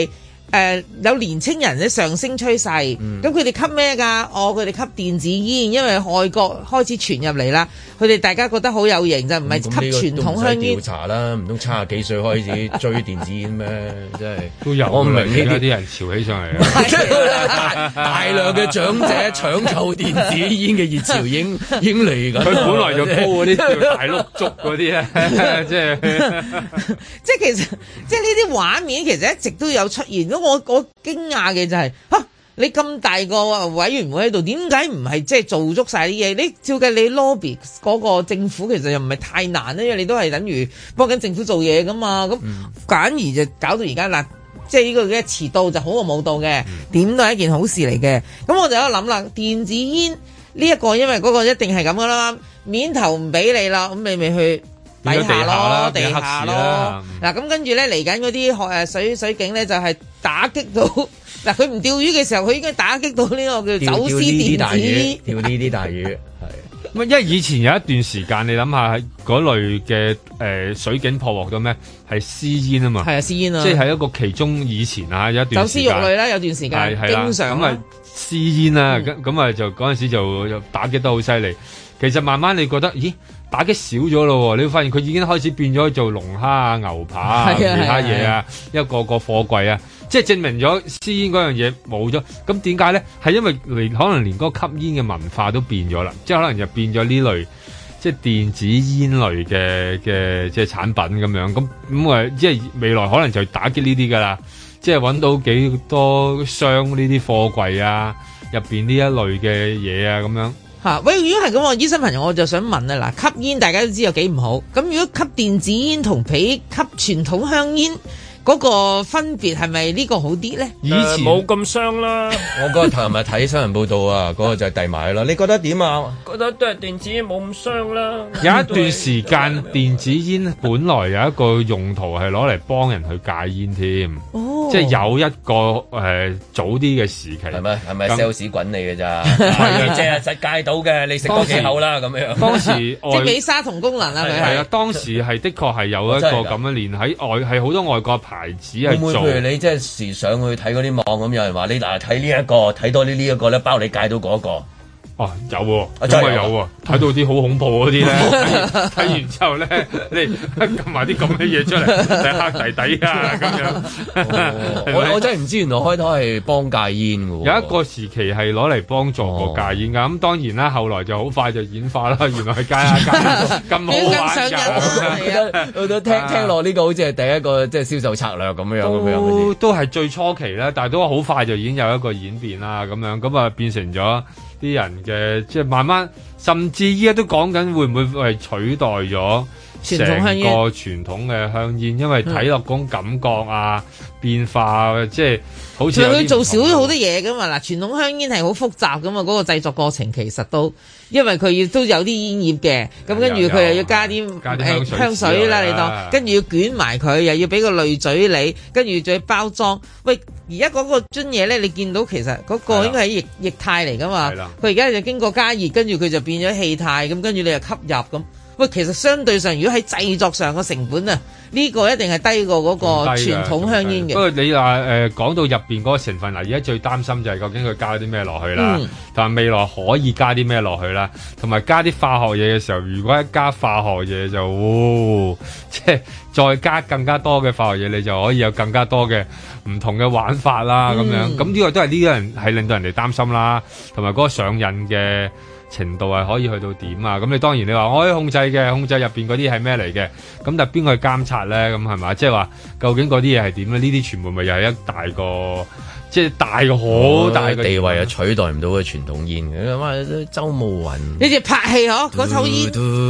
誒有年青人嘅上升趨勢，咁佢哋吸咩㗎？哦，佢哋吸電子煙，因為外國開始傳入嚟啦，佢哋大家覺得好有型，就唔係吸傳統香煙。
調查啦，唔通七十幾歲開始追電子煙咩？真係
都有。我唔明呢啲人潮起上嚟啊！
大量嘅長者搶購電子煙嘅熱潮已經已經嚟緊。
佢本來就高嗰啲叫大碌竹嗰啲咧，即係
即係其實即係呢啲畫面其實一直都有出現。我我驚訝嘅就係、是、嚇你咁大個委員會喺度，點解唔係即係做足晒啲嘢？你照計你 lobby 嗰個政府其實又唔係太難咧，因為你都係等於幫緊政府做嘢噶嘛。咁反而就搞到而家嗱，即係呢個嘅遲到就好過冇到嘅，點、嗯、都係一件好事嚟嘅。咁我就喺度諗啦，電子煙呢一個因為嗰個一定係咁噶啦，面頭唔俾你啦，咁你咪去底下咯，地下咯。嗱咁跟住咧嚟緊嗰啲誒水水警咧就係、是。打擊到嗱，佢唔釣魚嘅時候，佢應該打擊到呢個叫走私電子煙，
釣呢啲大魚，係。
咁因為以前有一段時間，你諗下喺嗰類嘅誒、呃、水警破獲到咩？係私煙啊嘛，係啊，私煙啊，即係喺一個其中以前啊有一段時間走私肉類啦，有段時間係經常咁啊私煙啊，咁咁啊就嗰陣時就打擊得好犀利。其實慢慢你覺得，咦？打擊少咗咯，你會發現佢已經開始變咗做龍蝦啊、牛扒啊、其他嘢啊，一個個貨櫃啊，即係證明咗私煙嗰樣嘢冇咗。咁點解咧？係因為連可能連嗰個吸煙嘅文化都變咗啦，即係可能就變咗呢類即係電子煙類嘅嘅即係產品咁樣。咁咁啊，即係未來可能就打擊呢啲噶啦，即係揾到幾多箱呢啲貨櫃啊，入邊呢一類嘅嘢啊咁樣。
嚇！喂，如果係咁，我醫生朋友我就想問啊，嗱，吸煙大家都知有幾唔好，咁如果吸電子煙同比吸傳統香煙嗰個分別係咪呢個好啲咧？
以前冇咁傷啦。我嗰日頭日睇新聞報道啊，嗰個就係遞埋啦。你覺得點啊？覺得都係電子煙冇咁傷啦。
有一段時間電子煙本來有一個用途係攞嚟幫人去戒煙添，哦、即係有一個誒、呃、早啲嘅時期。係
咪係咪 sales 滾你嘅咋？係即係實戒到嘅，你食多幾口啦咁樣。當時
即係美沙酮功能啊，佢
係啊，當時係的確係有一個咁樣連喺外係好多外國牌子係做。
會唔會譬如你即係時上去睇嗰啲網咁，有人話你嗱睇呢一個睇多啲呢一個咧，包你戒到嗰個。
哦，有喎，咁啊有喎，睇到啲好恐怖嗰啲咧，睇完之後咧，你撳埋啲咁嘅嘢出嚟，睇黑弟弟啊咁樣。
我我真係唔知原來開頭係幫戒煙嘅喎。
有一個時期係攞嚟幫助個戒煙㗎，咁當然啦，後來就好快就演化啦。原來係戒下戒咁好玩㗎。
我都聽聽落呢個好似係第一個即係銷售策略咁樣咁樣。
都係最初期啦，但係都好快就已經有一個演變啦，咁樣咁啊變成咗。啲人嘅即係慢慢，甚至依家都講緊會唔會係取代咗成個傳統嘅香煙，因為睇落嗰種感覺啊、嗯、變化啊，即係好似
佢做少咗好多嘢噶嘛。嗱，傳統香煙係好複雜噶嘛，嗰、嗰個製作過程其實都因為佢要都有啲煙葉嘅，咁跟住佢又要加啲誒香水啦，你當跟住要捲埋佢，又要俾個濾嘴你，跟住仲要包裝。喂，而家嗰個樽嘢咧，你見到其實嗰個應該係液液態嚟噶嘛？佢而家就經過加熱，跟住佢就變咗氣態，咁跟住你就吸入咁。喂，其實相對上，如果喺製作上嘅成本啊，呢、這個一定係低過嗰個傳統香煙嘅。
不過你話誒講到入邊嗰個成分，嗱，而家最擔心就係究竟佢加啲咩落去啦，但係、嗯、未來可以加啲咩落去啦，同埋加啲化學嘢嘅時候，如果一加化學嘢就，哦、即係再加更加多嘅化學嘢，你就可以有更加多嘅唔同嘅玩法啦，咁、嗯、樣。咁呢個都係呢個人係令到人哋擔心啦，同埋嗰個上癮嘅程度係可以去到點啊？咁你當然你話我可以控制嘅，控制入邊嗰啲係咩嚟嘅？咁但係邊個去監察咧？咁係咪？即係話究竟嗰啲嘢係點咧？呢啲全部咪又係一大個，即係大個好大嘅
地位啊，取代唔到嘅傳統煙嘅。咁啊，周慕雲
呢隻拍戲嗬，嗰抽煙。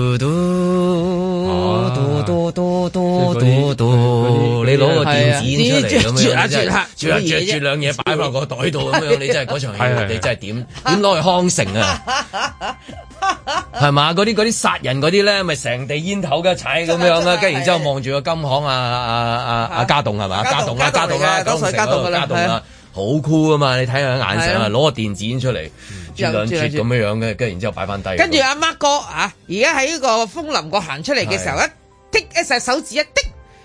你攞個電子煙出嚟咁樣，即係啜下啜住兩嘢擺落個袋度咁樣，你真係嗰場戲，你真係點點攞去康城啊？係嘛？嗰啲嗰啲殺人嗰啲咧，咪成地煙頭嘅踩咁樣啦，跟住然之後望住個金行啊啊啊啊家棟係嘛？家棟啊家棟啊，康城嗰度家棟啊，好酷啊嘛！你睇下眼神啊，攞個電子煙出嚟啜兩啜咁樣樣嘅，跟住然之後擺翻低。
跟住阿 Mark 哥啊，而家喺呢個楓林閣行出嚟嘅時候，一剔一隻手指一剔。啊！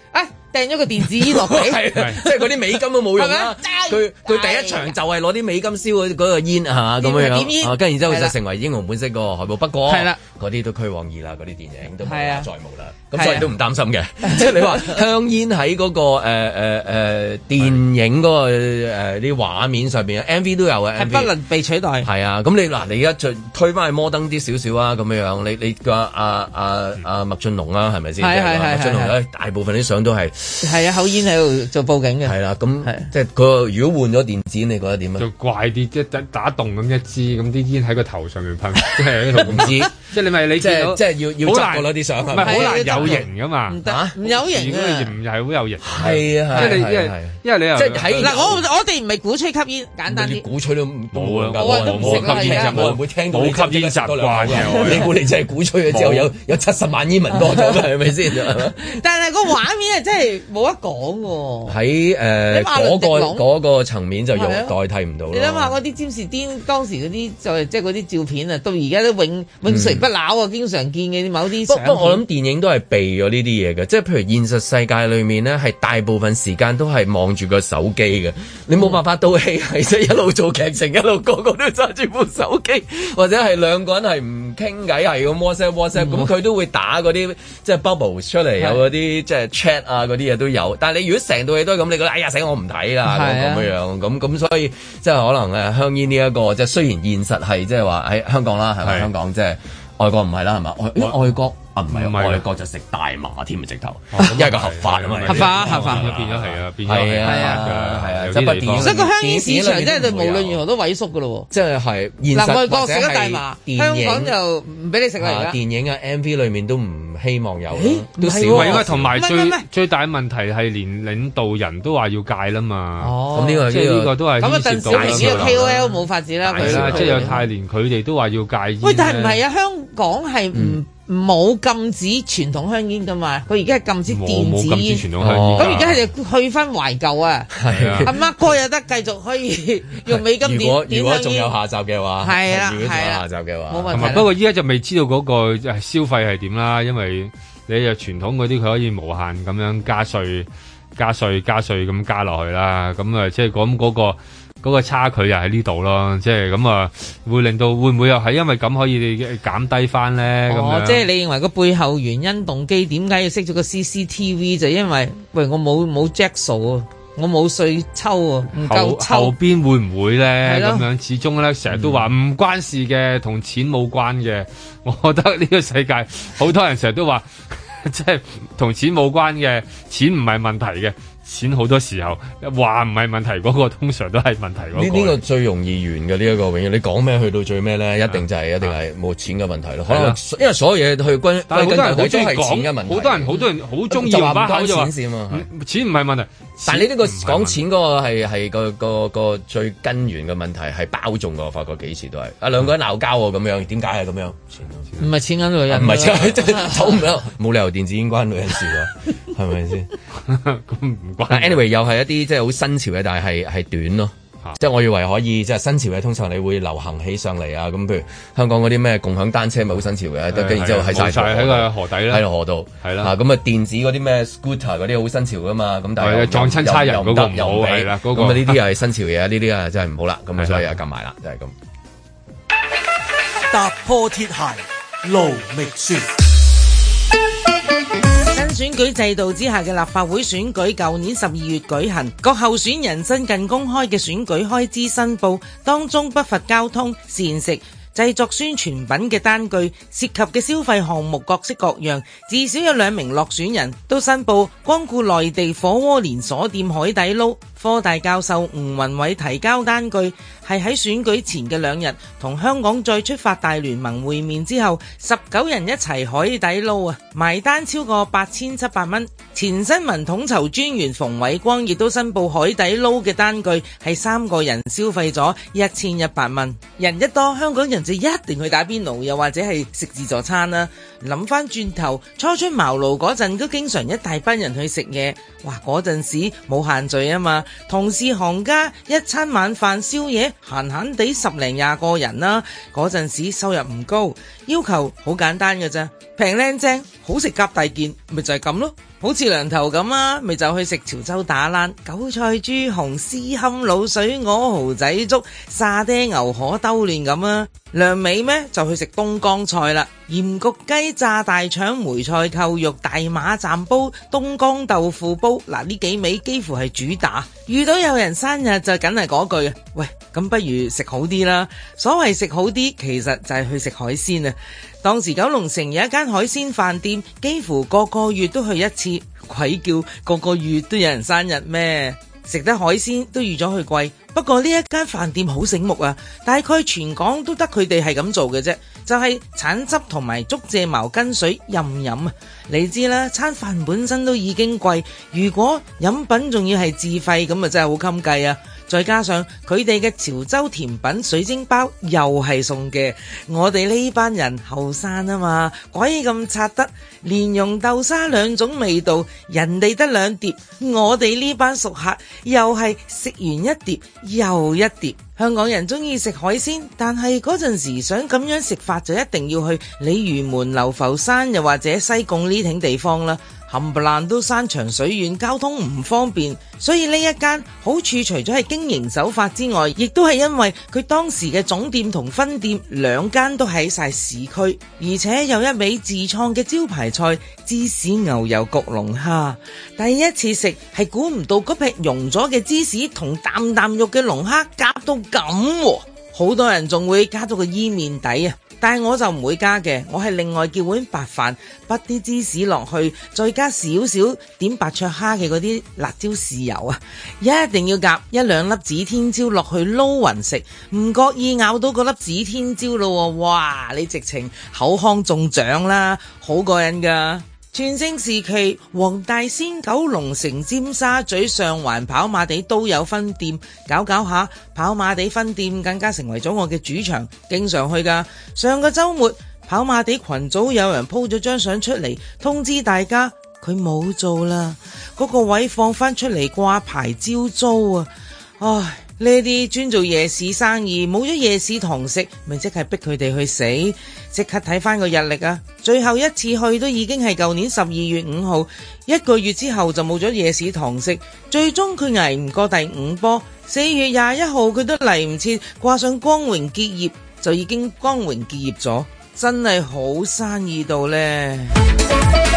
掟咗個電子煙落地，
即係嗰啲美金都冇用啦。佢佢第一場就係攞啲美金燒嗰嗰個煙係嘛咁樣樣，跟住然之後就成為英雄本色個海報。不過嗰啲都虛妄二啦，嗰啲電影都無啦再無啦。咁所以都唔擔心嘅。即係你話香煙喺嗰個誒誒誒電影嗰個誒啲畫面上邊 M V 都有嘅，
係不能被取代。
係啊，咁你嗱你而家推翻去摩登啲少少啊，咁樣樣你你個阿阿阿麥浚龍啊，係咪先？係係係麥浚龍咧，大部分啲相都係
係啊，口煙喺度做報警嘅。
係啦，咁即係佢如果換咗電子煙，你覺得點啊？
就怪啲，即係打洞咁一支，咁啲煙喺個頭上面噴，即係唔知，即係你咪你
即係即係要要執過啲相，
唔係好難有型噶嘛？
唔得，唔有型啊！
唔係好有型。
係啊，
即係你因為因為你又
即係喺
嗱，我我哋唔係鼓吹吸煙，簡單啲。
鼓吹都冇啊！
我都唔食啦，
吸煙就冇
會聽到
冇吸煙習慣嘅。
你估你真係鼓吹咗之後有有七十萬煙民多咗嘅係咪先？
但係個畫面係真係冇得講喎。
喺誒嗰個嗰個層面就用代替唔到。
你諗下嗰啲詹士甸當時嗰啲就係即係嗰啲照片啊，到而家都永永垂不朽啊！經常見嘅某啲。
不過我諗電影都係避咗呢啲嘢嘅，即係譬如現實世界裏面咧，係大部分時間都係望住個手機嘅，你冇辦法到戲係即係一路做劇情，一路個個都揸住部手機，或者係兩個人係唔傾偈，係咁 WhatsApp WhatsApp，咁佢都會打嗰啲即係 bubble 出嚟，有嗰啲即係 chat 啊嗰啲嘢都有。但係你如果成套戲都係咁，你覺得哎呀死我唔睇啦咁樣樣，咁咁所以即係可能誒香煙呢一個即係雖然現實係即係話喺香港啦，係咪香港即係外國唔係啦，係嘛外外國。唔係外國就食大麻添啊！直頭，因為個合法啊嘛，
合法合法
變咗係啊，變咗
係啊係啊，即係不電。
所以個香煙市場真係無論如何都萎縮噶咯喎。
即係係
嗱，外國食咗大麻，香港就唔俾你食啦而家。
電影嘅 M V 裏面都唔希望有，都少。
因為同埋最最大問題係連領導人都話要戒啦嘛。
哦，咁呢個
即係呢個都係。
咁啊，鄧小平呢個 K O L 冇法子啦。
係啦，即係有太連佢哋都話要戒煙。
喂，但係唔係啊？香港係唔冇禁止傳統香煙噶嘛？佢而家係禁止電子煙。咁而家係去翻懷舊啊！係啊，阿媽哥有得繼續可以用美金點點香煙。如果仲
有下集嘅話，
係啦，
如果仲有下集嘅話，冇問題。
不過依家就未知道嗰個消費係點啦，因為你又傳統嗰啲佢可以無限咁樣加稅、加稅、加稅咁加落去啦。咁啊，即係講嗰個。嗰個差距又喺呢度咯，即係咁啊，會令到會唔會又係因為咁可以減低翻咧？咁
哦，
樣
即係你認為個背後原因動機點解要熄咗個 C C T V？就因為喂我冇冇 jack 數啊，我冇稅抽啊，唔夠抽。
後邊會唔會咧？咁樣始終咧，成日都話唔關事嘅，同錢冇關嘅。我覺得呢個世界好多人成日都話，即係同錢冇關嘅，錢唔係問題嘅。錢好多時候話唔係問題，嗰個通常都係問題嗰個。
呢呢個最容易完嘅呢一個永遠，你講咩去到最咩咧？一定就係一定係冇錢嘅問題咯。可能因為所有嘢去歸歸根究底都係錢嘅問題。
好多人好多人好中意話把口就話錢唔係問題。
但係你呢個講錢嗰個係係個個個最根源嘅問題係包中嘅，我發覺幾次都係啊兩個人鬧交喎咁樣，點解係咁樣？
唔係錢緊女人，
唔係錢走唔到，冇理由電子煙關女人事㗎，係咪先？
咁唔關。
anyway 又係一啲即係好新潮嘅，但係係係短咯。即係我以為可以，即係新潮嘅通常你會流行起上嚟啊！咁譬如香港嗰啲咩共享單車咪好新潮嘅，跟住之後喺晒
喺個河底啦，
喺河度
係啦。
咁啊電子嗰啲咩 scooter 嗰啲好新潮噶嘛，咁但係
撞親差人嗰個唔好係啦，
咁啊呢啲又係新潮嘢，呢啲啊真係唔好啦。咁啊所以啊撳埋啦，就係咁。
踏破鐵鞋路未雪。
選舉制度之下嘅立法會選舉，舊年十二月舉行，各候選人新近公開嘅選舉開支申報當中不乏交通、膳食、製作宣傳品嘅單據，涉及嘅消費項目各式各樣，至少有兩名落選人都申報光顧內地火鍋連鎖店海底撈。科大教授吳宏偉提交單據，係喺選舉前嘅兩日同香港再出發大聯盟會面之後，十九人一齊海底撈啊，埋單超過八千七百蚊。前新聞統籌專員馮偉光亦都申報海底撈嘅單據，係三個人消費咗一千一百蚊。人一多，香港人就一定去打邊爐，又或者係食自助餐啦。諗翻轉頭，初出茅廬嗰陣都經常一大班人去食嘢，哇！嗰陣時冇限聚啊嘛。同事行家一餐晚飯宵夜閒閒地十零廿個人啦，嗰陣時收入唔高，要求好簡單嘅啫，平靚正，好食夾大件，咪就係咁咯。 好似梁頭咁啊，咪就去食潮州打冷、韭菜豬紅、絲堪滷水鵝、蠔仔粥、沙爹牛河兜亂咁啊。梁尾咩就去食東江菜啦，鹽焗雞、炸大腸、梅菜扣肉、大馬站煲、東江豆腐煲，嗱呢幾味幾乎係主打。遇到有人生日就梗係嗰句，喂，咁不如食好啲啦。所謂食好啲，其實就係去食海鮮啊。當時九龍城有一間海鮮飯店，幾乎個個月都去一次，鬼叫個個月都有人生日咩？食得海鮮都預咗去貴，不過呢一間飯店好醒目啊，大概全港都得佢哋係咁做嘅啫，就係橙汁同埋竹蔗茅根水任飲啊！你知啦，餐飯本身都已經貴，如果飲品仲要係自費，咁啊真係好襟計啊！再加上佢哋嘅潮州甜品水晶包又係送嘅，我哋呢班人後生啊嘛，鬼咁拆得蓮蓉豆沙兩種味道，人哋得兩碟，我哋呢班熟客又係食完一碟又一碟。香港人中意食海鮮，但係嗰陣時想咁樣食法就一定要去鯉魚門、流浮山又或者西貢呢挺地方啦。冚唪唥都山長水遠，交通唔方便，所以呢一間好處除咗係經營手法之外，亦都係因為佢當時嘅總店同分店兩間都喺晒市區，而且有一味自創嘅招牌菜芝士牛油焗龍蝦。第一次食係估唔到嗰劈溶咗嘅芝士同啖啖肉嘅龍蝦夾到咁，好多人仲會加到個伊麵底啊！但係我就唔會加嘅，我係另外叫碗白飯，滗啲芝士落去，再加少少點白灼蝦嘅嗰啲辣椒豉油啊！一定要夾一兩粒指天椒落去撈勻食，唔覺意咬到嗰粒指天椒咯，哇！你直情口腔中獎啦，好過癮噶！全盛時期，黃大仙、九龍城、尖沙咀、上環、跑馬地都有分店，搞搞下，跑馬地分店更加成為咗我嘅主場，經常去噶。上個週末，跑馬地群組有人 po 咗張相出嚟，通知大家佢冇做啦，嗰個位放翻出嚟掛牌招租啊！唉，呢啲專做夜市生意，冇咗夜市堂食，咪即係逼佢哋去死。即刻睇翻個日曆啊！最後一次去都已經係舊年十二月五號，一個月之後就冇咗夜市堂食。最終佢捱唔過第五波，四月廿一號佢都嚟唔切掛上光榮結業，就已經光榮結業咗，真係好生意到呢。